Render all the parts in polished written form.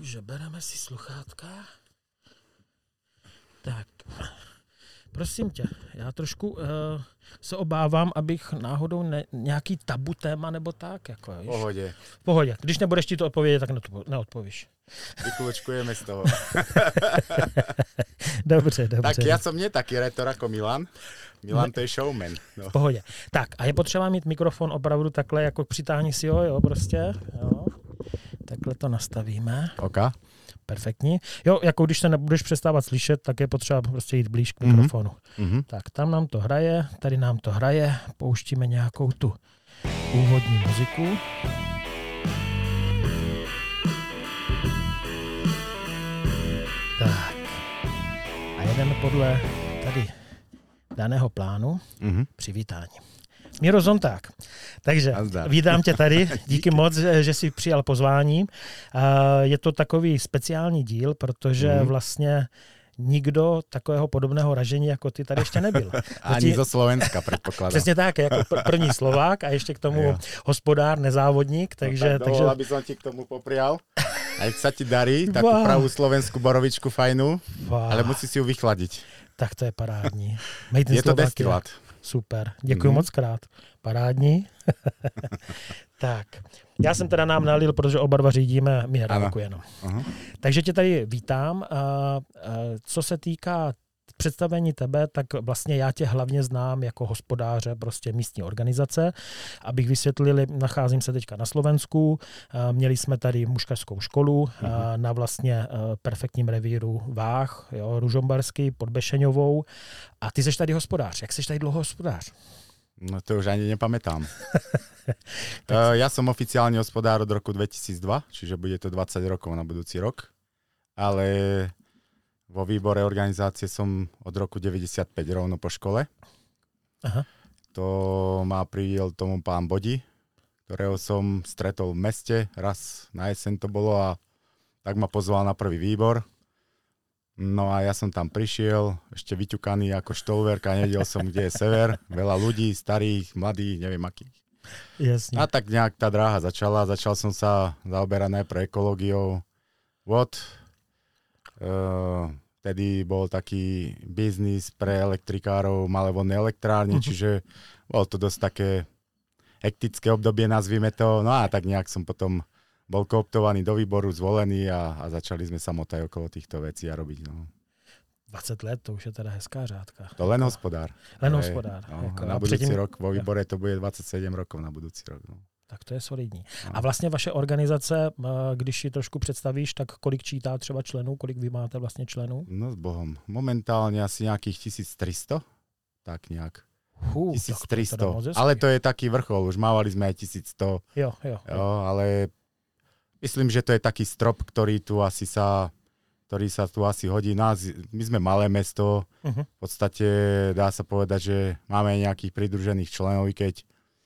Takže bereme si sluchátka. Tak, prosím tě, já trošku se obávám, abych náhodou nějaký tabu téma nebo tak. Jako, Pohodě. V pohodě. Když nebudeš ti to odpovědět, tak neodpovíš. Vyklúčkujeme z toho. Dobře. Tak já jsem nie taký retor jako Milan. Milan to je showman. No. V pohodě. Tak a je potřeba mít mikrofon opravdu takhle, jako přitáhni si ho, jo, prostě. Jo. Takhle to nastavíme. OK. Perfektní. Jo, jako když se nebudeš přestávat slyšet, tak je potřeba prostě jít blíž k mikrofonu. Mm-hmm. Tak tam nám to hraje, tady nám to hraje, pouštíme nějakou tu úvodní muziku. Tak. A jedeme podle tady daného plánu přivítání. Miro Zonták. Takže vítám tě tady. Díky moc, že jsi přijal pozvání. Je to takový speciální díl, protože vlastně nikdo takového podobného ražení jako ty tady ještě nebyl. Ani zo Slovenska, předpokládám. Přesně tak, jako první Slovák a ještě k tomu hospodár, nezávodník. Takže, no tak aby som ti k tomu poprial. Aj sa ti darí, takú pravú slovenskú borovičku fajnú, ale musí si ju vychladiť. Tak to je parádní. Je to destilát. Super, děkuji moc krát. Parádní. Tak, já jsem teda nám nalil, protože oba dva řídíme minerálku jenom. Takže tě tady vítám. Co se týká představení tebe, tak vlastně já tě hlavně znám jako hospodáře prostě místní organizace. Abych vysvětlil, nacházím se teďka na Slovensku, měli jsme tady mužkařskou školu na vlastně perfektním revíru Váh, jo, Ružomberský pod Bešeňovou. A ty jsi tady hospodář. Jak jsi tady dlouho hospodář? No to už ani nepamätám. Ja som oficiálne hospodár od roku 2002, čiže bude to 20 rokov na budúci rok. Ale vo výbore organizácie som od roku 95 rovno po škole. Aha. To ma priviel tomu pán Bodi, ktorého som stretol v meste, raz na jeseň to bolo a tak ma pozval na prvý výbor. No a ja som tam prišiel, ešte vyťukaný ako štolverk a nevedel som, kde je sever. Veľa ľudí, starých, mladých, neviem akých. Jasne. A tak nejak tá dráha začala. Začal som sa zaoberať najprv ekológiou. Vtedy bol taký biznis pre elektrikárov, malé vodné elektrárne, čiže bolo to dosť také hektické obdobie, nazvime to. No a tak nejak som potom bol kooptovaný do výboru, zvolený a začali sme sa motať okolo týchto vecí a robiť. No. 20 let, to už je teda hezká řádka. To len hospodár. Len hospodár. No, a na budúci rok vo výbore to bude 27 rokov na budúci rok. No. Tak to je solidní. No. A vlastně vaše organizace, když ji trošku představíš, tak kolik čítá třeba členů, kolik vy máte vlastně členů? No s Bohom. Momentálne asi nejakých 1300, tak nejak. 1300, ale to je taký vrchol, už mávali sme aj 1100. Jo, ale myslím, že to je taký strop, ktorý sa tu asi hodí. My sme malé mesto, v podstate dá sa povedať, že máme nejakých pridružených členov, i keď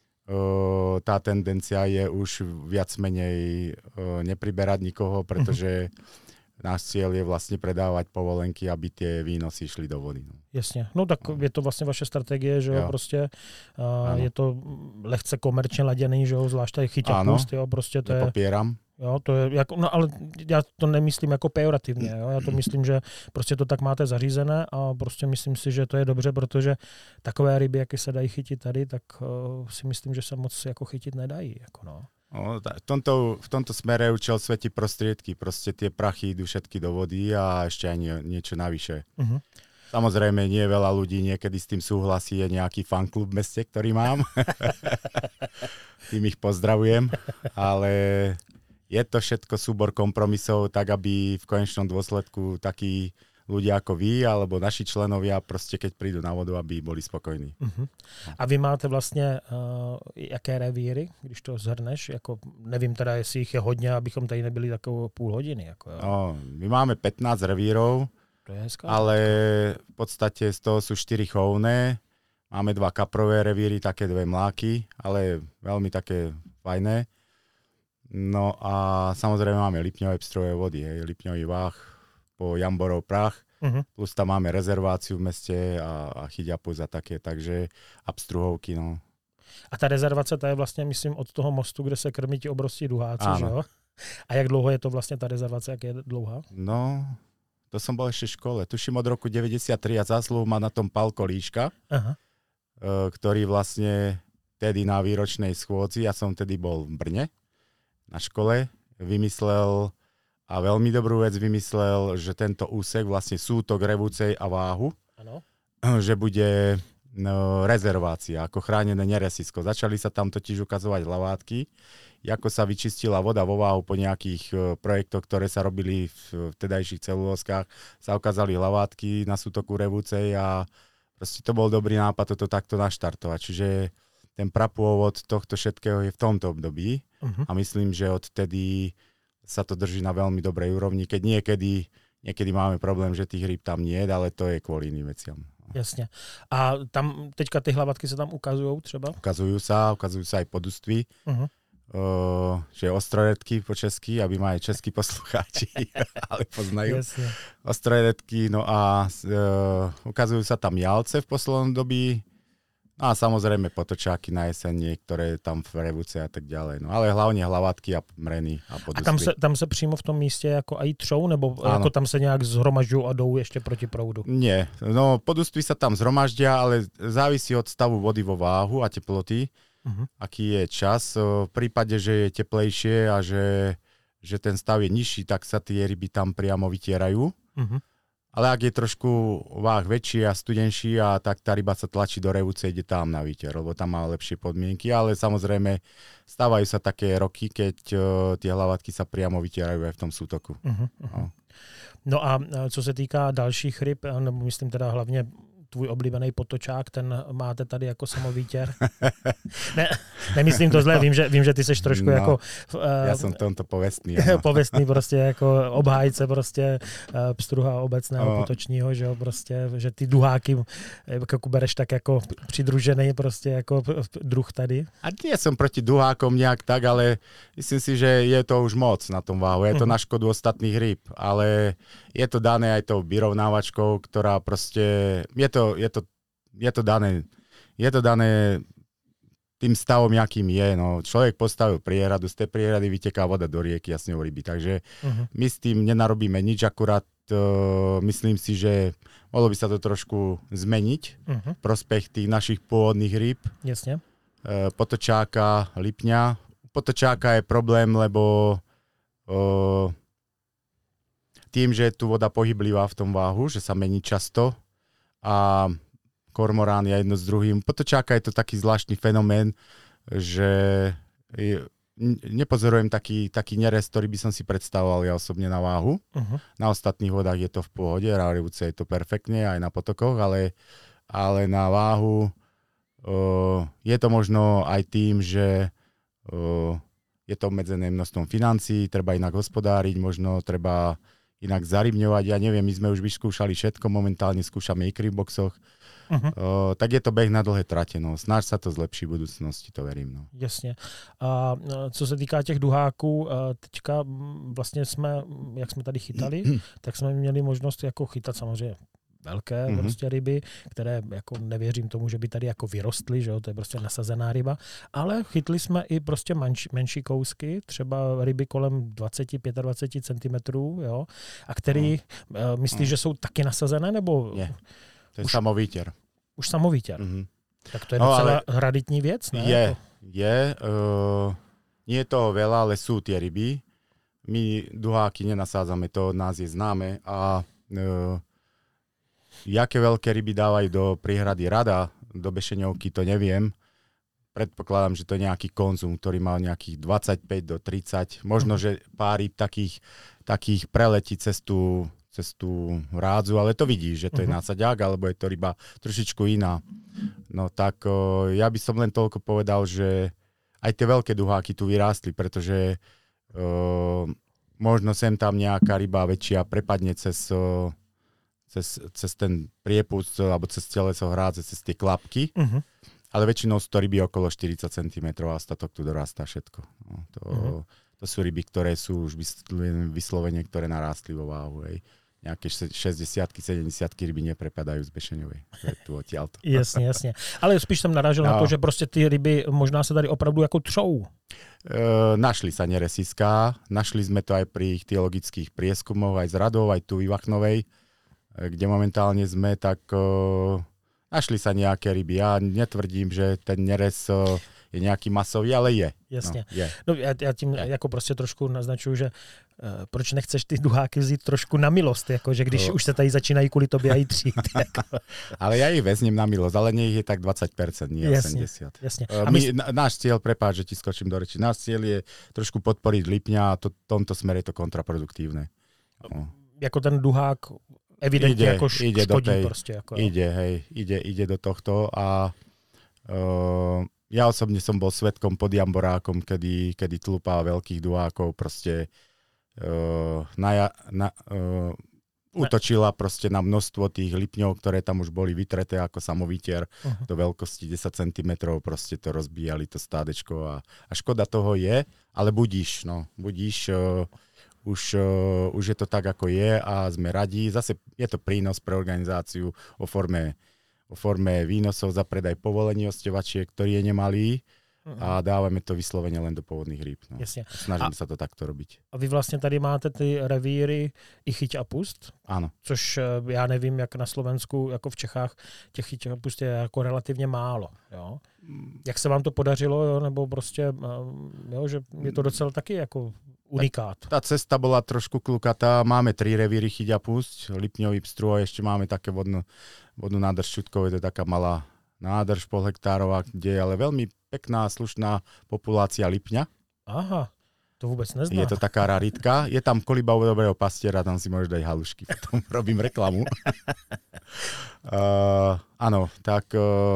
tá tendencia je už viac menej nepriberať nikoho, pretože náš cieľ je vlastne predávať povolenky, aby tie výnosy šli do vody. No. Jasně. No tak je to vlastně vaše strategie, že jo, prostě je to lehce komerčně laděný, že jo, zvlášť tady chyťa pust, jo, prostě to nepopieram. Jo, to je jako, no ale já to nemyslím jako pejorativně, jo, já to myslím, že prostě to tak máte zařízené a prostě myslím si, že to je dobře, protože takové ryby, jaké se dají chytit tady, tak si myslím, že se moc jako chytit nedají, jako no. No, v tomto smere účel svätí prostriedky, proste tie prachy idú všetky do vody a ešte aj niečo navyše. Samozrejme, nie veľa ľudí niekedy s tým súhlasí, je nejaký fanklub v meste, ktorý mám. Tým ich pozdravujem, ale je to všetko súbor kompromisov, tak aby v konečnom dôsledku takí ľudia ako vy, alebo naši členovia, prostě keď prídu na vodu, aby boli spokojní. A vy máte vlastně jaké revíry, když to zhrneš? Jako, nevím teda, jestli jich je hodně, abychom tady nebyli takovou půl hodiny. Jako, no, my máme 15 revírov, to je hezká, ale v podstate z toho sú 4 chovné. Máme 2 kaprové revíry, také 2 mláky, ale veľmi také fajné. No a samozrejme máme Lipňové pstrové vody, Lipňový Váh, po Jamborov prach, plus tam máme rezerváciu v meste a chyťapus a také, takže a pstruhovky, no. A ta rezervace, ta je vlastně, myslím, od toho mostu, kde se krmí ti obrovský duháci, že jo? A jak dlouho je to vlastne tá rezervácia, jak je dlouhá? No, to som bol ešte v škole. Tuším od roku 93 a zásluhu má na tom Pál Kolíška, ktorý vlastne tedy na výročnej schôdzi, ja som tedy bol v Brne na škole, vymyslel a veľmi dobrú vec vymyslel, že tento úsek, vlastne sútok Revúcej a Váhu, že bude rezervácia, ako chránené neresisko. Začali sa tam totiž ukazovať lavátky, ako sa vyčistila voda vo Váhu po nejakých projektoch, ktoré sa robili v tedajších celulózkach, sa ukázali lavátky na sútoku Revúcej a proste to bol dobrý nápad toto takto naštartovať. Čiže ten prapôvod tohto všetkého je v tomto období a myslím, že odtedy sa to drží na veľmi dobrej úrovni, keď niekedy máme problém, že tých rýb tam nie je, ale to je kvôli iným veciam. Jasne. A tam teďka ty hlavatky sa tam ukazujú třeba? Ukazujú sa aj poduství. Že ostroredky po česky, aby ma aj českí poslucháči ale poznajú. Jasne. Ostroredky, no a ukazujú sa tam jalce v poslednom dobí. No a samozrejme potočáky na jeseň, niektoré tam v Revúce a tak ďalej. No ale hlavne hlavatky a mreny a podustvy. A tam se přímo v tom místě jako aj třou, nebo jako tam se nějak zhromažďují a jdou ještě proti proudu? Nie, no podustvy sa tam zhromaždia, ale závisí od stavu vody vo Váhu a teploty, aký je čas. V prípade, že je teplejšie a že ten stav je nižší, tak sa tie ryby tam priamo vytierajú. Ale ak je trošku váh väčší a studenší, a tak tá ryba sa tlačí do Revúce, ide tam na výter, lebo tam má lepšie podmienky, ale samozrejme stávajú sa také roky, keď tie hlavatky sa priamo vytierajú aj v tom sútoku. No a co se týká dalších ryb, nebo myslím teda hlavně tvůj oblíbený potočák, ten máte tady jako samovítěr. Ne, nemyslím to zle, vím, že ty seš trošku jako... Já jsem tomto povestný. Povestný prostě jako obhájce prostě pstruha obecného potočního, že jo, prostě, že ty duháky jako bereš tak jako přidružený prostě jako druh tady. A nie som proti duhákom nejak tak, ale myslím si, že je to už moc na tom váhu. Je to na škodu ostatných rýb, ale je to dané aj tou vyrovnávačkou, ktorá proste... Je to dané tým stavom, jakým je. No, človek postavil priehradu, z tej priehrady vyteká voda do rieky a s ňou ryby. Takže my s tým nenarobíme nič, akurát myslím si, že mohlo by sa to trošku zmeniť v prospech tých našich pôvodných rýb. Jasne. Potočáka, lipňa. Potočáka je problém, lebo tým, že je tu voda pohyblivá v tom váhu, že sa mení často, a kormorán je jedno s druhým. Potočáka je to taký zvláštny fenomén, že nepozorujem taký nerest, ktorý by som si predstavoval ja osobne na váhu. Na ostatných vodách je to v pohode, na Revúce je to perfektne, aj na potokoch, ale na váhu je to možno aj tým, že je to obmedzené množstvom financií, treba inak hospodáriť, možno treba inak zarybňovať. Ja neviem, my sme už vyskúšali všetko, momentálne skúšame ikry v boxoch. Tak je to beh na dlhé trate. No. Snáď sa to zlepší v budúcnosti, to verím. No. Jasně. A co se týká těch duháků, teďka vlastně jsme, jak jsme tady chytali, tak jsme měli možnost jako chytat samozřejmě velké prostě ryby, které jako nevěřím tomu, že by tady jako vyrostly, že jo, to je prostě nasazená ryba, ale chytli jsme i prostě menší kousky, třeba ryby kolem 20-25 cm, jo, a který myslíš, že jsou taky nasazené, nebo... Nie, to je samovíter. Už samovíter. Tak to je docela hraditní věc, ne? Nie je toho veľa, ale sú tie ryby. My duháky nenasádzame, to od nás je známe a jaké veľké ryby dávajú do príhrady rada, do Bešeňovky, to neviem. Predpokladám, že to je nejaký konzum, ktorý mal nejakých 25 do 30. Možno, že pár ryb takých preletí cez tú rádzu, ale to vidíš, že to je násaďák, alebo je to ryba trošičku iná. No tak ja by som len toľko povedal, že aj tie veľké duháky tu vyrástli, pretože možno sem tam nejaká ryba väčšia prepadne cez ten priepust alebo cez teleso hrádze, cez tie klapky, ale väčšinou sú to ryby okolo 40 cm a ostatok tu dorastá všetko. No, to sú ryby, ktoré sú už vyslovene, ktoré narástli vo váhu. Hej. nejaké 60-ky, 70-ky ryby neprepadajú z Bešeňovej. Tu odtiaľto. Jasně. Ale spíš jsem narážel na to, že prostě ty ryby možná se tady opravdu jako třou. Našli sa neresiská, našli sme to aj pri ichtyologických prieskumoch, aj z Radov, aj tu v Ivachnovej, kde momentálne sme, tak našli sa nejaké ryby. Ja netvrdím, že ten nerez je nějaký masový, ale je. Jasně. No, je. No, já tím jako prostě trošku naznačuju, že proč nechceš ty duháky vzít trošku na milost, jako, že když už se tady začínají kvůli tobě aj třít. Jako. Ale ja ich vezním na milosť, ale nie ich je tak 20%, nie 80%. Jasně. Náš cieľ, prepáč, že ti skočím do reči, náš cieľ je trošku podporiť lipňa a v tomto smere je to kontraproduktívne. No. Jako ten duhák evidentně jako škodí prostě. Jako, ide do tohto a ja osobne som bol svedkom pod Jamborákom, kedy tlupa veľkých duhákov proste útočila proste na množstvo tých lipňov, ktoré tam už boli vytreté ako samovytier do veľkosti 10 cm, proste to rozbíjali to stádečko a škoda toho je, ale budíš, už je to tak, ako je a sme radí. Zase je to prínos pre organizáciu o forme výnosov za predaj povolení ostevačiek, ktorý je nemalý a dávame to vyslovene len do pôvodných rýb. No. Snažíme sa to takto robiť. A vy vlastně tady máte ty revíry i chyť a pust? Áno. Což já nevím, jak na Slovensku, jako v Čechách, těch chyť a pust je jako relativně málo. Jo? Jak se vám to podařilo, jo? Nebo prostě, jo, že je to docela taky jako unikát. Tá cesta bola trošku klukatá. Máme 3 revíry chyť a pusť, lipňový pstru a ešte máme také vodnú nádrž Čutkové, to je taká malá nádrž pol hektárová, kde je ale veľmi pekná, slušná populácia lipňa. Aha, to vôbec neznám. Je to taká raritka. Je tam koliba u dobrého pastiera, tam si môžeš dať halušky. Potom robím reklamu. Áno, tak...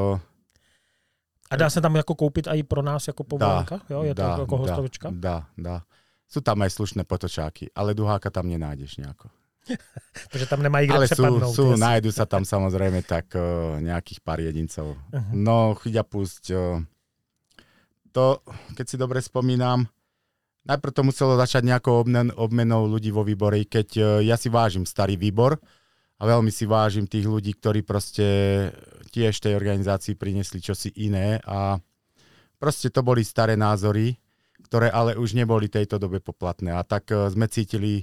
A dá se tam jako koupit i pro nás jako povolenka? Jo, je to jako hostovička? Dá. Sú tam aj slušné potočáky, ale duháka tam nenájdeš nejako. Takže tam nemají kde přepadnout. Ale nájdu sa tam samozrejme tak nejakých pár jedincov. No, chyť a pusť. To, keď si dobre spomínam, najprv to muselo začať nejakou obmenou ľudí vo výbore, keď ja si vážim starý výbor a veľmi si vážim tých ľudí, ktorí proste tiež tej organizácii priniesli čosi iné a proste to boli staré názory, ktoré ale už neboli tejto dobe poplatné. A tak sme cítili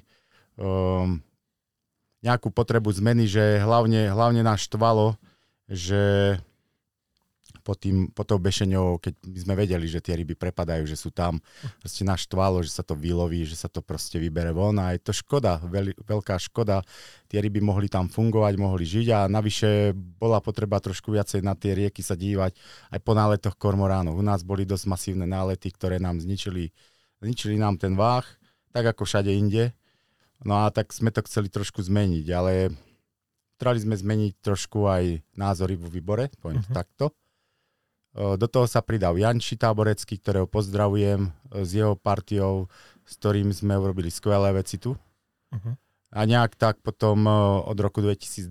nejakú potrebu zmeny, že hlavne nás štvalo, že po tou Bešeňou, keď my sme vedeli, že tie ryby prepadajú, že sú tam, proste nás štvalo, že sa to vyloví, že sa to proste vybere von a je to škoda, veľká škoda. Tie ryby mohli tam fungovať, mohli žiť a navyše bola potreba trošku viacej na tie rieky sa dívať aj po náletoch kormoránov. U nás boli dosť masívne nálety, ktoré nám zničili nám ten váh, tak ako všade inde. No a tak sme to chceli trošku zmeniť, ale chceli sme zmeniť trošku aj názory vo výbore, poviem to takto. Do toho sa pridal Janči Táborecký, ktorého pozdravujem, s jeho partiou, s ktorým sme urobili skvelé veci tu. A nejak tak potom od roku 2012,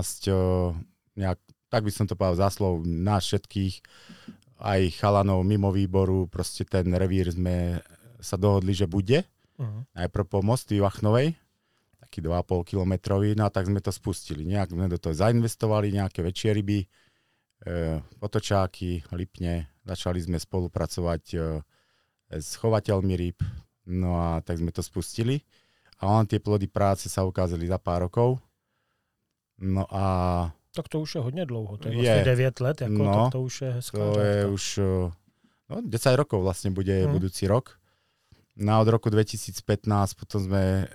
tak by som to povedal záslov nás všetkých, aj chalanov mimo výboru, proste ten revír sme sa dohodli, že bude. Najprv po mostu Ivachnovej, taký 2,5 kilometrový, no a tak sme to spustili. Nejak sme do toho zainvestovali, nejaké väčšie ryby, potočáky, lipne. Začali sme spolupracovať s chovateľmi rýb, no a tak sme to spustili. A on tie plody práce sa ukázali za pár rokov. No a... Tak to už je hodně dlouho, to je vlastně 9 let, jako, no, tak to už je hezká. To je už 10 rokov vlastne bude budúci rok. No a od roku 2015 potom sme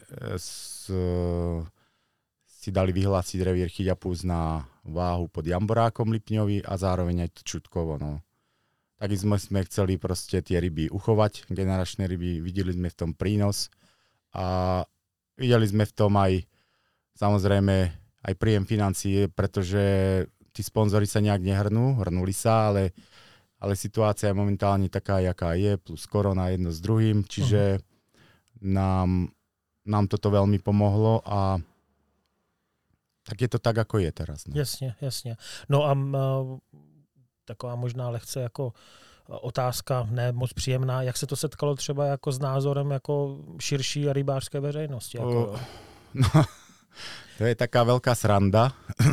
si dali vyhlásiť revír chyť a pusť na váhu pod Jamborákom lipňový a zároveň aj to Čutkovo. No. Tak sme chceli proste tie ryby uchovať, generačné ryby, videli sme v tom prínos a videli sme v tom aj samozrejme aj príjem financií, pretože tí sponzori sa nejak hrnuli sa, ale situácia je momentálne taká, jaká je, plus korona jedno s druhým, čiže nám toto veľmi pomohlo a tak je to tak, ako je teraz. No. Jasně. No a taková možná lehce jako otázka, ne moc příjemná, jak se to setkalo třeba jako s názorem jako širší rybářské veřejnosti? Jako... To je taká veľká sranda,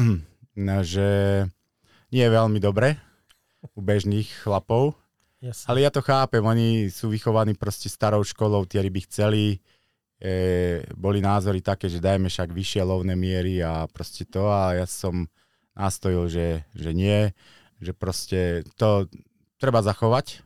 že nie je veľmi dobre u bežných chlapov, ale ja to chápem, oni sú vychovaní proste starou školou, tie ryby chceli, boli názory také, že dajme však vyššie lovné miery a proste to, a ja som nastojil, že nie, že proste to treba zachovať,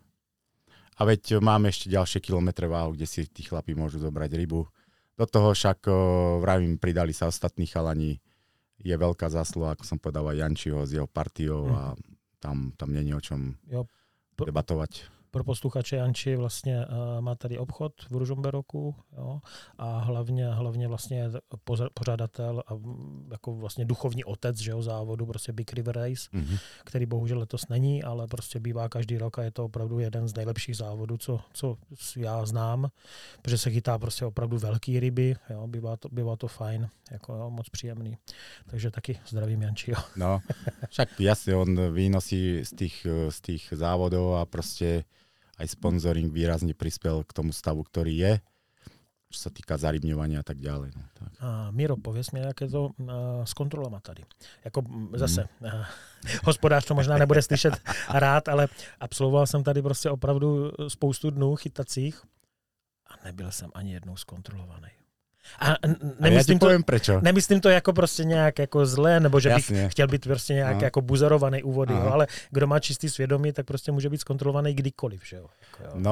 a veď máme ešte ďalšie kilometre váhu, kde si tí chlapi môžu zobrať rybu. Do toho však, vravím, pridali sa ostatní chalani, je veľká zásluha, ako som povedal, aj Jančiho s jeho partiou a tam nie je o čom debatovať. Pro posluchače, Janči vlastně má tady obchod v Ružomberoku, jo, a hlavně vlastně je pořadatel a jako vlastně duchovní otec, že jo, závodu, prostě Big River Race, který bohužel letos není, ale prostě bývá každý rok a je to opravdu jeden z nejlepších závodů, co já znám, protože se chytá prostě opravdu velký ryby, jo, bývá to fajn, jako jo, moc příjemný. Takže taky zdravím Jančiho. No, však jasne, on výnosí z tých závodov a proste aj sponzoring výrazne prispel k tomu stavu, ktorý je, čo sa týka zarybňovania a tak ďalej. No, tak. Miro, pověz mi, jak je to s kontrolama tady. Jako zase, hospodář to možná nebude slyšet rád, ale absolvoval jsem tady prostě opravdu spoustu dnů chytacích a nebyl jsem ani jednou zkontrolovaný. A nemyslím, poviem prečo. Nemyslím to jako prostě nějak jako zlé, nebo že bych chtěl být prostě nějak jako buzerovaný u vody, jo, ale kdo má čistý svědomí, tak prostě může být zkontrolovaný kdykoliv. Že jo? Jako, jo. No,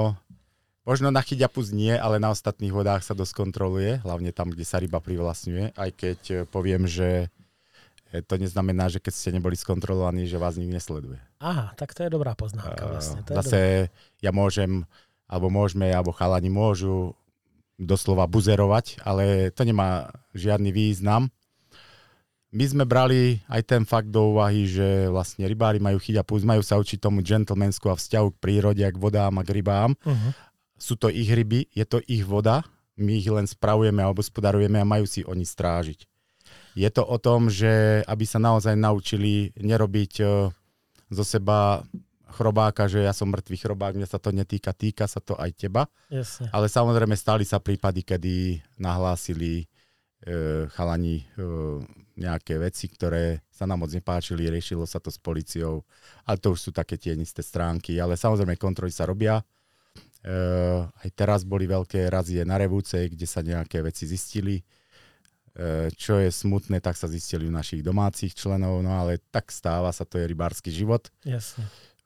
možno na chyťapus nie, ale na ostatných vodách sa dosť kontroluje, hlavne tam, kde sa ryba privlastňuje, aj keď poviem, že to neznamená, že keď ste neboli skontrolovaní, že vás nikto nesleduje. Aha, tak to je dobrá poznámka vlastne. Zase ja môžem, alebo môžeme, alebo chalani môžu doslova buzerovať, ale to nemá žiadny význam. My sme brali aj ten fakt do úvahy, že vlastne rybári majú chyťapus, majú sa učiť tomu gentlemansku a vzťahu k prírode, k vodám a k rybám. Sú to ich ryby, je to ich voda, my ich len spravujeme a obospodarujeme a majú si oni strážiť. Je to o tom, že aby sa naozaj naučili nerobiť zo seba chrobáka, že ja som mŕtvý chrobák, mňa sa to netýka, týka sa to aj teba. Jasne. Ale samozrejme stali sa prípady, kedy nahlásili chalani nejaké veci, ktoré sa nám moc nepáčili, riešilo sa to s políciou, ale to už sú také tienisté stránky, ale samozrejme kontroly sa robia. Aj teraz boli veľké razie na Revúcej, kde sa nejaké veci zistili. Čo je smutné, tak sa zistili u našich domácich členov, no ale tak stáva sa, to je rybársky život. Jasne.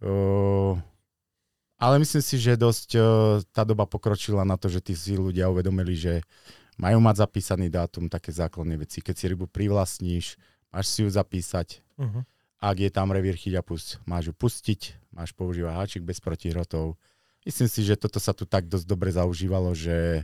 Ale myslím si, že dosť tá doba pokročila na to, že tí si ľudia uvedomili, že majú mať zapísaný dátum, také základné veci. Keď si rybu privlastníš, máš si ju zapísať. Ak je tam revír chyťapus, máš ju pustiť, máš používať háčik bez protihrotov. Myslím si, že toto sa tu tak dosť dobre zaužívalo, že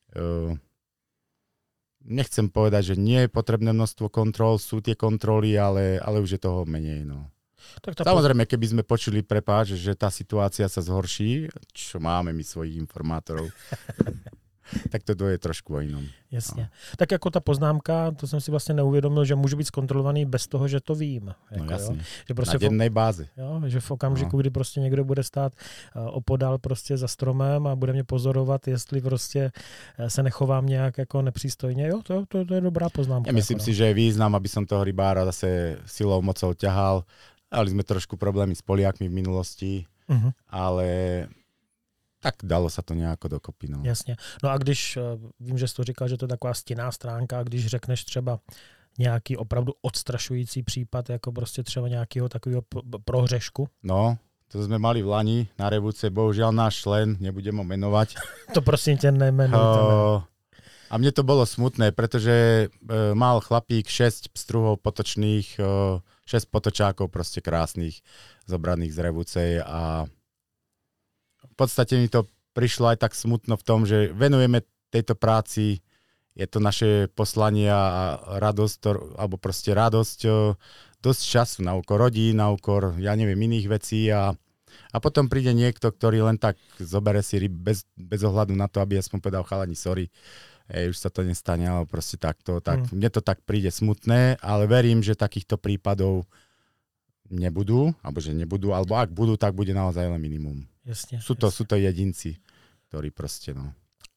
nechcem povedať, že nie je potrebné množstvo kontrol, sú tie kontroly, ale už je toho menej. No. Tak samozrejme, keby sme počuli, prepáč, že tá situácia sa zhorší, čo máme my svojich informátorov, tak to je trošku o inom. Jasně. No. Tak jako ta poznámka, to jsem si vlastně neuvědomil, že můžu být zkontrolovaný bez toho, že to vím. Jako, no jasně, že prostě na dennej bázi. Jo, že v okamžiku, kdy prostě někdo bude stát opodál prostě za stromem a bude mě pozorovat, jestli prostě se nechovám nějak jako nepřístojně, jo, to je dobrá poznámka. Ja myslím si, že je význam, aby som toho rybára zase silou, mocou ťahal. Mali sme trošku problémy s Poliakmi v minulosti, ale tak dalo sa to nejako dokopy. No. Jasně. No a když, vím, že jsi to říkal, že to je taková stinná stránka, když řekneš třeba nějaký opravdu odstrašující případ, jako prostě třeba nějakého takového prohřešku? No, to sme mali v Lani na Revúce, bohužiaľ náš člen, nebudem ho menovať. To prosím ťa nemenuj. A mne to bolo smutné, pretože mal chlapík 6 pstruhov potočných, 6 potočákov proste krásnych, zobraných z Revúcej a v podstate mi to prišlo aj tak smutno v tom, že venujeme tejto práci, je to naše poslanie a radosť, alebo proste radosť, dosť času na úkor rodín, na úkor, ja neviem, iných vecí a potom príde niekto, ktorý len tak zobere si ryb bez ohľadu na to, aby aspoň povedal chalani, sorry, už sa to nestane, ale proste takto, tak mne to tak príde smutné, ale verím, že takýchto prípadov nebudú, alebo ak budú, tak bude naozaj len minimum. Jasne. Sú to jedinci, ktorí proste, no.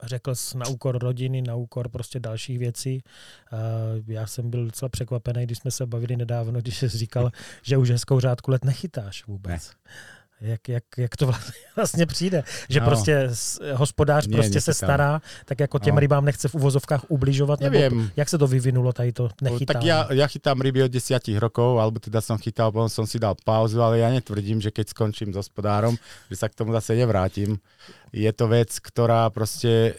řekl jsi na úkor rodiny, na úkor prostě dalších věcí. Já jsem byl docela překvapený, když jsme se bavili nedávno, když jsi říkal, že už hezkou řádku let nechytáš vůbec. Ne. Jak to vlastně přijde? Že prostě hospodář prostě se stará, tak jako těm rybám nechce v uvozovkách ubližovat? Nebo jak se to vyvinulo, tady to nechytání? Tak ja chytám ryby od 10 rokov, alebo teda som chytal, potom som si dal pauzu, ale ja netvrdím, že keď skončím s hospodárom, že sa k tomu zase nevrátim. Je to vec, ktorá proste...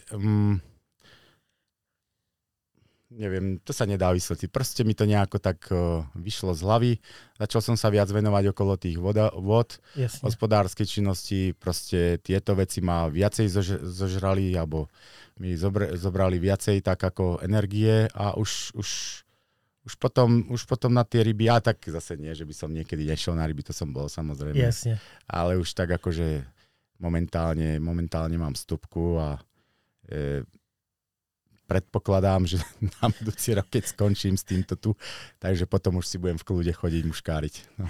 neviem, to sa nedá vysvetliť. Proste mi to nejako tak vyšlo z hlavy. Začal som sa viac venovať okolo tých vod, hospodárskej činnosti. Proste tieto veci ma viacej zožrali, alebo mi zobrali viacej tak ako energie a už potom na tie ryby, a tak zase nie, že by som niekedy nešiel na ryby, to som bol samozrejme. Jasne. Ale už tak akože momentálne mám stopku a predpokladám, že na budúci rok, keď skončím s týmto tu, takže potom už si budem v kľude chodiť muškáriť. No.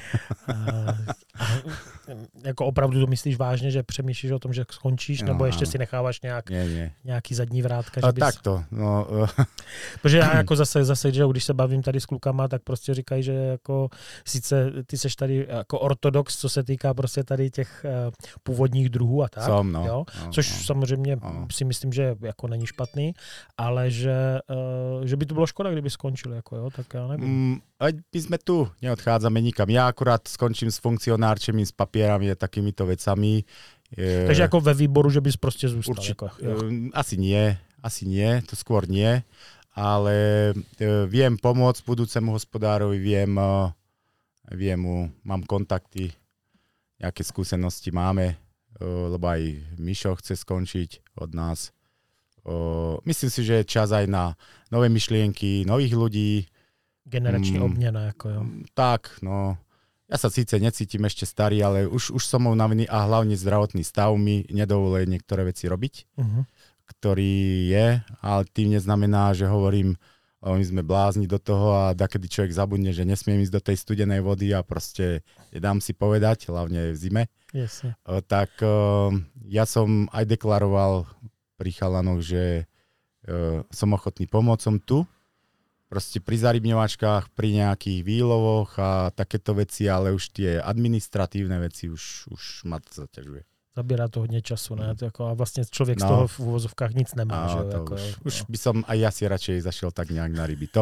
Jako opravdu to myslíš vážně, že přemýšlíš o tom, že skončíš, nebo ještě si necháváš nějaký zadní vrátka? Že bys... Takto. No. Protože já jako zase, že když se bavím tady s klukama, tak prostě říkají, že jako sice ty seš tady jako ortodox, co se týká prostě tady těch původních druhů a tak. Jo? Což samozřejmě si myslím, že jako není špatný, ale že by to bylo škoda, kdyby skončil, jako jo, tak já nevím. My sme tu, neodchádzame nikam. Ja akurát skončím s funkcionárčemi, s papierami a takýmito vecami. Takže jako ve výboru, že bys prostě zůstal? Jako, asi nie, to skôr nie, ale viem pomôcť budúcemu hospodárovi, viem mu, mám kontakty, nejaké skúsenosti máme, lebo aj Mišo chce skončiť od nás. Myslím si, že je čas aj na nové myšlienky, nových ľudí. Generační obměna, jako jo. Tak, no. Ja sa síce necítim ešte starý, ale už som unavený a hlavne zdravotný stav mi nedovoluje niektoré veci robiť, ktorý je, ale tým neznamená, že hovorím, my sme blázni do toho a dakedy človek zabudne, že nesmiem ísť do tej studenej vody a proste nedám si povedať, hlavne v zime. Jasne. Tak ja som aj deklaroval pri chalanoch, že som ochotný pomôcom tu, proste pri zarybňovačkách, pri nejakých výlovoch a takéto veci, ale už tie administratívne veci už ma to zaťažuje. Zabírá to hodně času, ne? To a vlastně člověk z toho v uvozovkách nic nemá. Že? Jako, už by som aj ja si radšej zašiel tak nejak na ryby.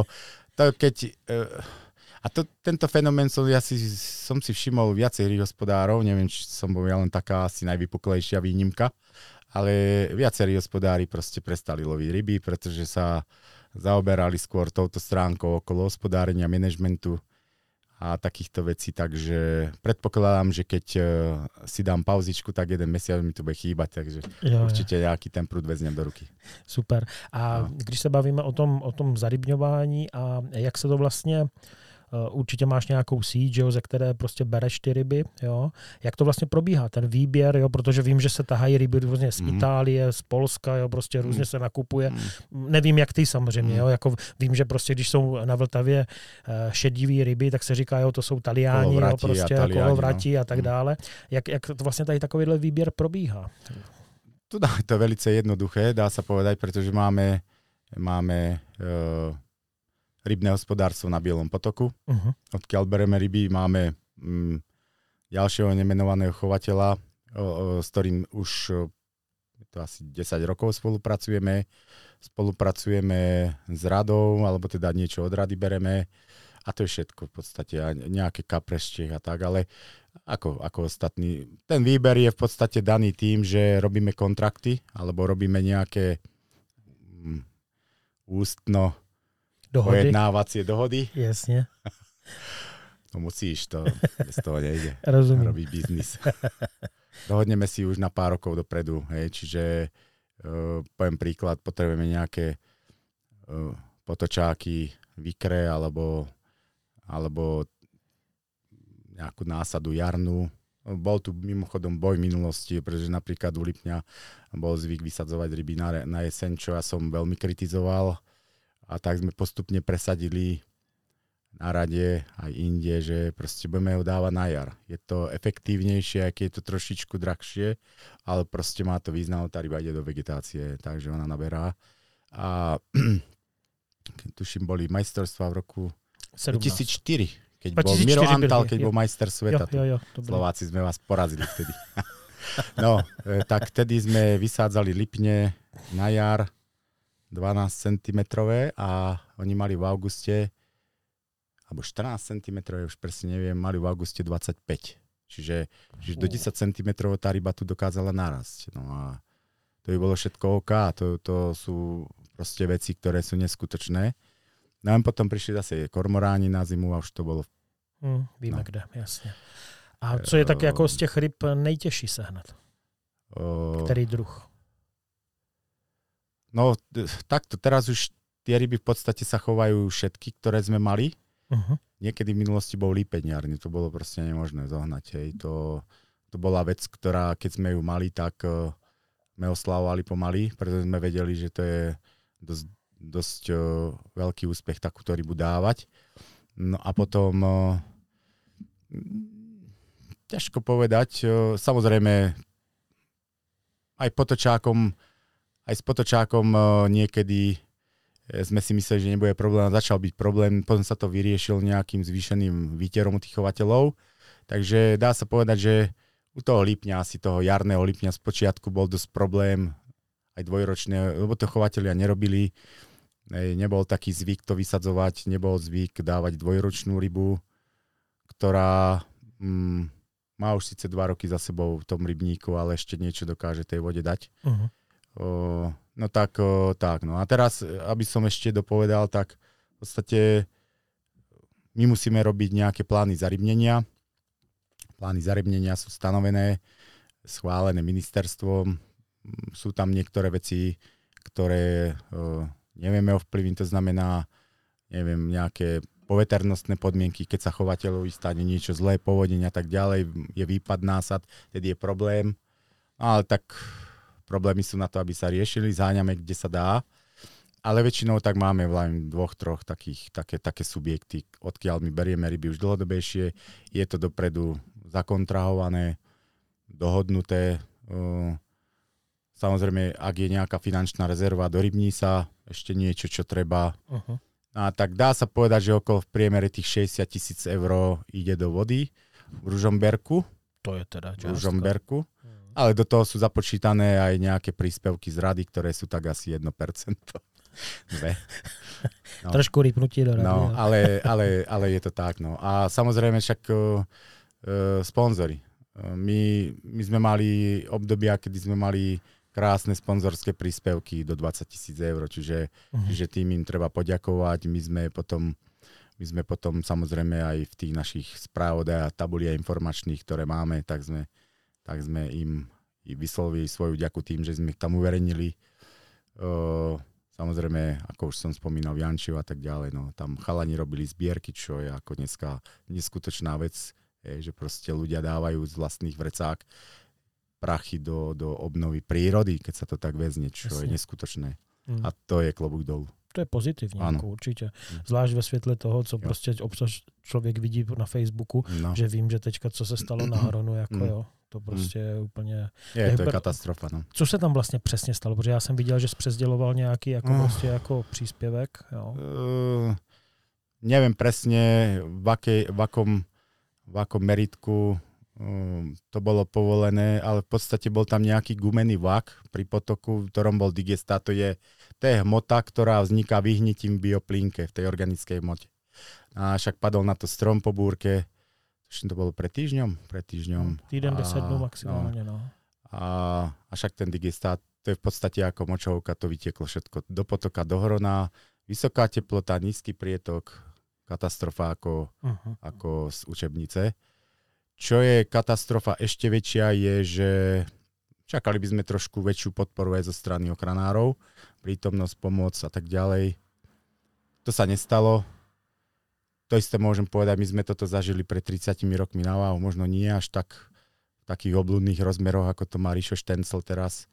Tento fenomén som si všimol viacerých hospodárov, neviem, či som bol ja len taká asi najvypuklejšia výnimka, ale viacerí hospodári proste prestali loviť ryby, pretože sa zaoberali skôr touto stránkou okolo hospodárenia, manažmentu a takýchto vecí, takže predpokladám, že keď si dám pauzičku, tak 1 mesiac mi to bude chýbať, takže určite nejaký ten prúd vezmem do ruky. Super. A když se bavíme o tom zarybňování a jak se to vlastně určitě máš nějakou síť, ze které prostě bereš ty ryby, jo. Jak to vlastně probíhá, ten výběr, jo, protože vím, že se tahají ryby různě z Itálie, z Polska, jo, prostě různě se nakupuje. Nevím, jak ty samozřejmě, jo, jako vím, že prostě, když jsou na Vltavě šedivý ryby, tak se říká, jo, to jsou Taliáni, jo, prostě kolovratí a tak dále. Jak to vlastně tady takovýhle výběr probíhá? Tu to je velice jednoduché, dá sa povedať, pretože máme rybné hospodárstvo na Bielom potoku. Odkiaľ bereme ryby, máme ďalšieho nemenovaného chovateľa, s ktorým už to asi 10 rokov spolupracujeme. Spolupracujeme s radou, alebo teda niečo od rady bereme. A to je všetko v podstate. A nejaké kaprešte a tak, ale ako ostatní. Ten výber je v podstate daný tým, že robíme kontrakty, alebo robíme nejaké ústno pojednávacie dohody. Jasne. No musíš, to bez toho nejde. Rozumiem. Robiť biznis. Dohodneme si už na pár rokov dopredu, hej, čiže poviem príklad, potrebujeme nejaké potočáky, vikre alebo nejakú násadu jarnú. Bol tu mimochodom boj v minulosti, pretože napríklad u Lipňa bol zvyk vysadzovať ryby na jeseň, čo ja som veľmi kritizoval. A tak sme postupne presadili na rade aj inde, že proste budeme ho dávať na jar. Je to efektívnejšie, aj keď je to trošičku drahšie, ale proste má to význam, tá ryba ide do vegetácie, takže ona naberá. A tuším, boli majstrovstvá v roku 2004, keď bol Miro Antal, keď bol majster sveta. Slováci sme vás porazili vtedy. No, tak vtedy sme vysádzali lipne na jar 12 cm a oni mali v auguste alebo 14 cm, už presne neviem, mali v auguste 25. Čiže do 10 cm tá ryba tu dokázala narásť. No a to by bolo všetko OK. To sú proste veci, ktoré sú neskutočné. No a potom prišli zase kormoráni na zimu a už to bolo... Víme kde, jasně. A co je tak jako z těch ryb nejtěžší sehnat? Který druh? No, takto. Teraz už tie ryby v podstate sa chovajú všetky, ktoré sme mali. Niekedy v minulosti bol lípeňárny, to bolo proste nemožné zohnať. Hej. To bola vec, ktorá, keď sme ju mali, tak sme oslavovali pomaly, pretože sme vedeli, že to je dosť veľký úspech takúto rybu dávať. No a potom ťažko povedať, samozrejme aj s potočákom niekedy sme si mysleli, že nebude problém, začal byť problém, potom sa to vyriešil nejakým zvýšeným výterom u tých chovateľov. Takže dá sa povedať, že u toho lípňa, asi toho jarného lípňa z počiatku bol dosť problém, aj dvojročné, lebo to chovatelia nerobili. Nebol taký zvyk to vysadzovať, nebol zvyk dávať dvojročnú rybu, ktorá má už síce 2 roky za sebou v tom rybníku, ale ešte niečo dokáže tej vode dať. No tak. No a teraz, aby som ešte dopovedal, tak v podstate my musíme robiť nejaké plány zarybnenia. Plány zarybnenia sú stanovené, schválené ministerstvom. Sú tam niektoré veci, ktoré nevieme ovplyvniť, to znamená, nejaké poveternostné podmienky, keď sa chovateľovi stane niečo zlé, povodenia a tak ďalej, je výpad násad, tedy je problém. Ale tak problémy sú na to, aby sa riešili, zháňame, kde sa dá, ale väčšinou tak máme len 2-3 také subjekty, odkiaľ my berieme ryby už dlhodobejšie, je to dopredu zakontrahované, dohodnuté. Samozrejme, ak je nejaká finančná rezerva, dorybní sa ešte niečo, čo treba. A tak dá sa povedať, že okolo v priemere tých 60 000 eur ide do vody v Ružomberku. To je teda částka. V Ružomberku. Ale do toho sú započítané aj nejaké príspevky z rady, ktoré sú tak asi 1%. No. Trošku rýpnutí do rady. No, ale je to tak. No. A samozrejme však sponzory. My sme mali obdobia, kedy sme mali krásne sponzorské príspevky do 20 000 eur, čiže tým im treba poďakovať. My sme potom samozrejme aj v tých našich správodách a tabuliach informačných, ktoré máme, tak sme im vyslovili svoju vďaku tým, že sme ich tam uverejnili. Samozrejme, ako už som spomínal, Jančiv a tak ďalej, no, tam chalani robili zbierky, čo je ako dneska neskutočná vec, že proste ľudia dávajú z vlastných vrecák prachy do obnovy prírody, keď sa to tak vezne, čo je neskutočné. A to je klobúk dolu. To je pozitivní, jako určitě. Zvlášť ve světle toho, co prostě občas člověk vidí na Facebooku, že vím, že teďka, co se stalo na Hronu, jako jo. To prostě je úplně... To je katastrofa, no. Co se tam vlastně přesně stalo? Protože já jsem viděl, že přesděloval nějaký jako prostě jako příspěvek, jo. Neviem presne, v akom meritku to bolo povolené, ale v podstate bol tam nejaký gumený vlak pri potoku, v ktorom bol digestat. To je hmota, ktorá vzniká vyhnitím v bioplínke, v tej organickej hmote. A však padol na to strom po búrke, to bolo pred týždňom? Týden 10 dnů maximálne, no. A však ten digestát, to je v podstate ako močovka, to vytieklo všetko do potoka, do Hrona, vysoká teplota, nízky prietok, katastrofa ako z učebnice. Čo je katastrofa ešte väčšia je, že čakali by sme trošku väčšiu podporu aj zo strany ochranárov, prítomnosť, pomoc a tak ďalej. To sa nestalo. To isté môžem povedať, my sme toto zažili pred 30 rokmi na váhu, možno nie až tak v takých obľudných rozmeroch, ako to má Ríšo Štencel teraz,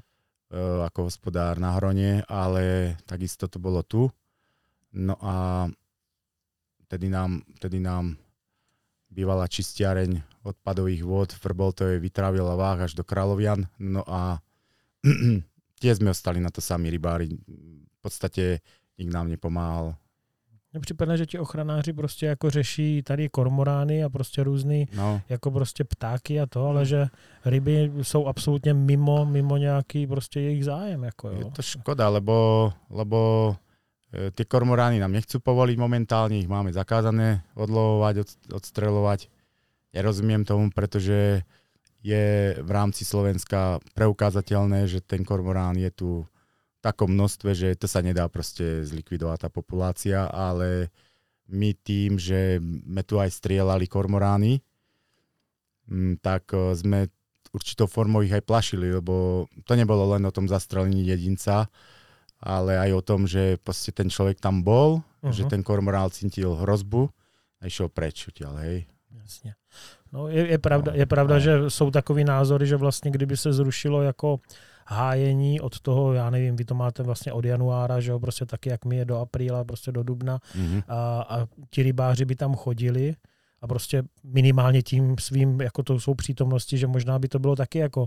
ako hospodár na Hrone, ale takisto to bolo tu. No a tedy nám bývala čistiareň odpadových vôd v Vrboltovej vytrávila váh až do Kráľovian. No a tie sme ostali na to sami rybári. V podstate nikto nám nepomáhal. Mně připadne, že ti ochranáři prostě jako řeší tady kormorány a prostě různý jako prostě ptáky a to, ale že ryby jsou absolutně mimo nějaký prostě jejich zájem. Jako, jo. Je to škoda, lebo tie kormorány nám nechcú povoliť momentálne, ich máme zakázané odlovovať, odstreľovať. Nerozumiem tomu, pretože je v rámci Slovenska preukázateľné, že ten kormorán je tu v takom množstve, že to sa nedá proste zlikvidovať tá populácia, ale my tým, že sme tu aj strieľali kormorány, tak sme určitou formou ich aj plašili, lebo to nebolo len o tom zastrelení jedinca, ale aj o tom, že proste ten človek tam bol, že ten kormorán cítil hrozbu a išiel preč odtiaľ, hej. Jasně. No je pravda, že jsou takový názory, že vlastně kdyby se zrušilo jako hájení od toho, já nevím, vy to máte vlastně od januára, že jo, prostě taky jak my je do apríla, prostě do dubna a ti rybáři by tam chodili a prostě minimálně tím svým, jako to jsou přítomnosti, že možná by to bylo taky jako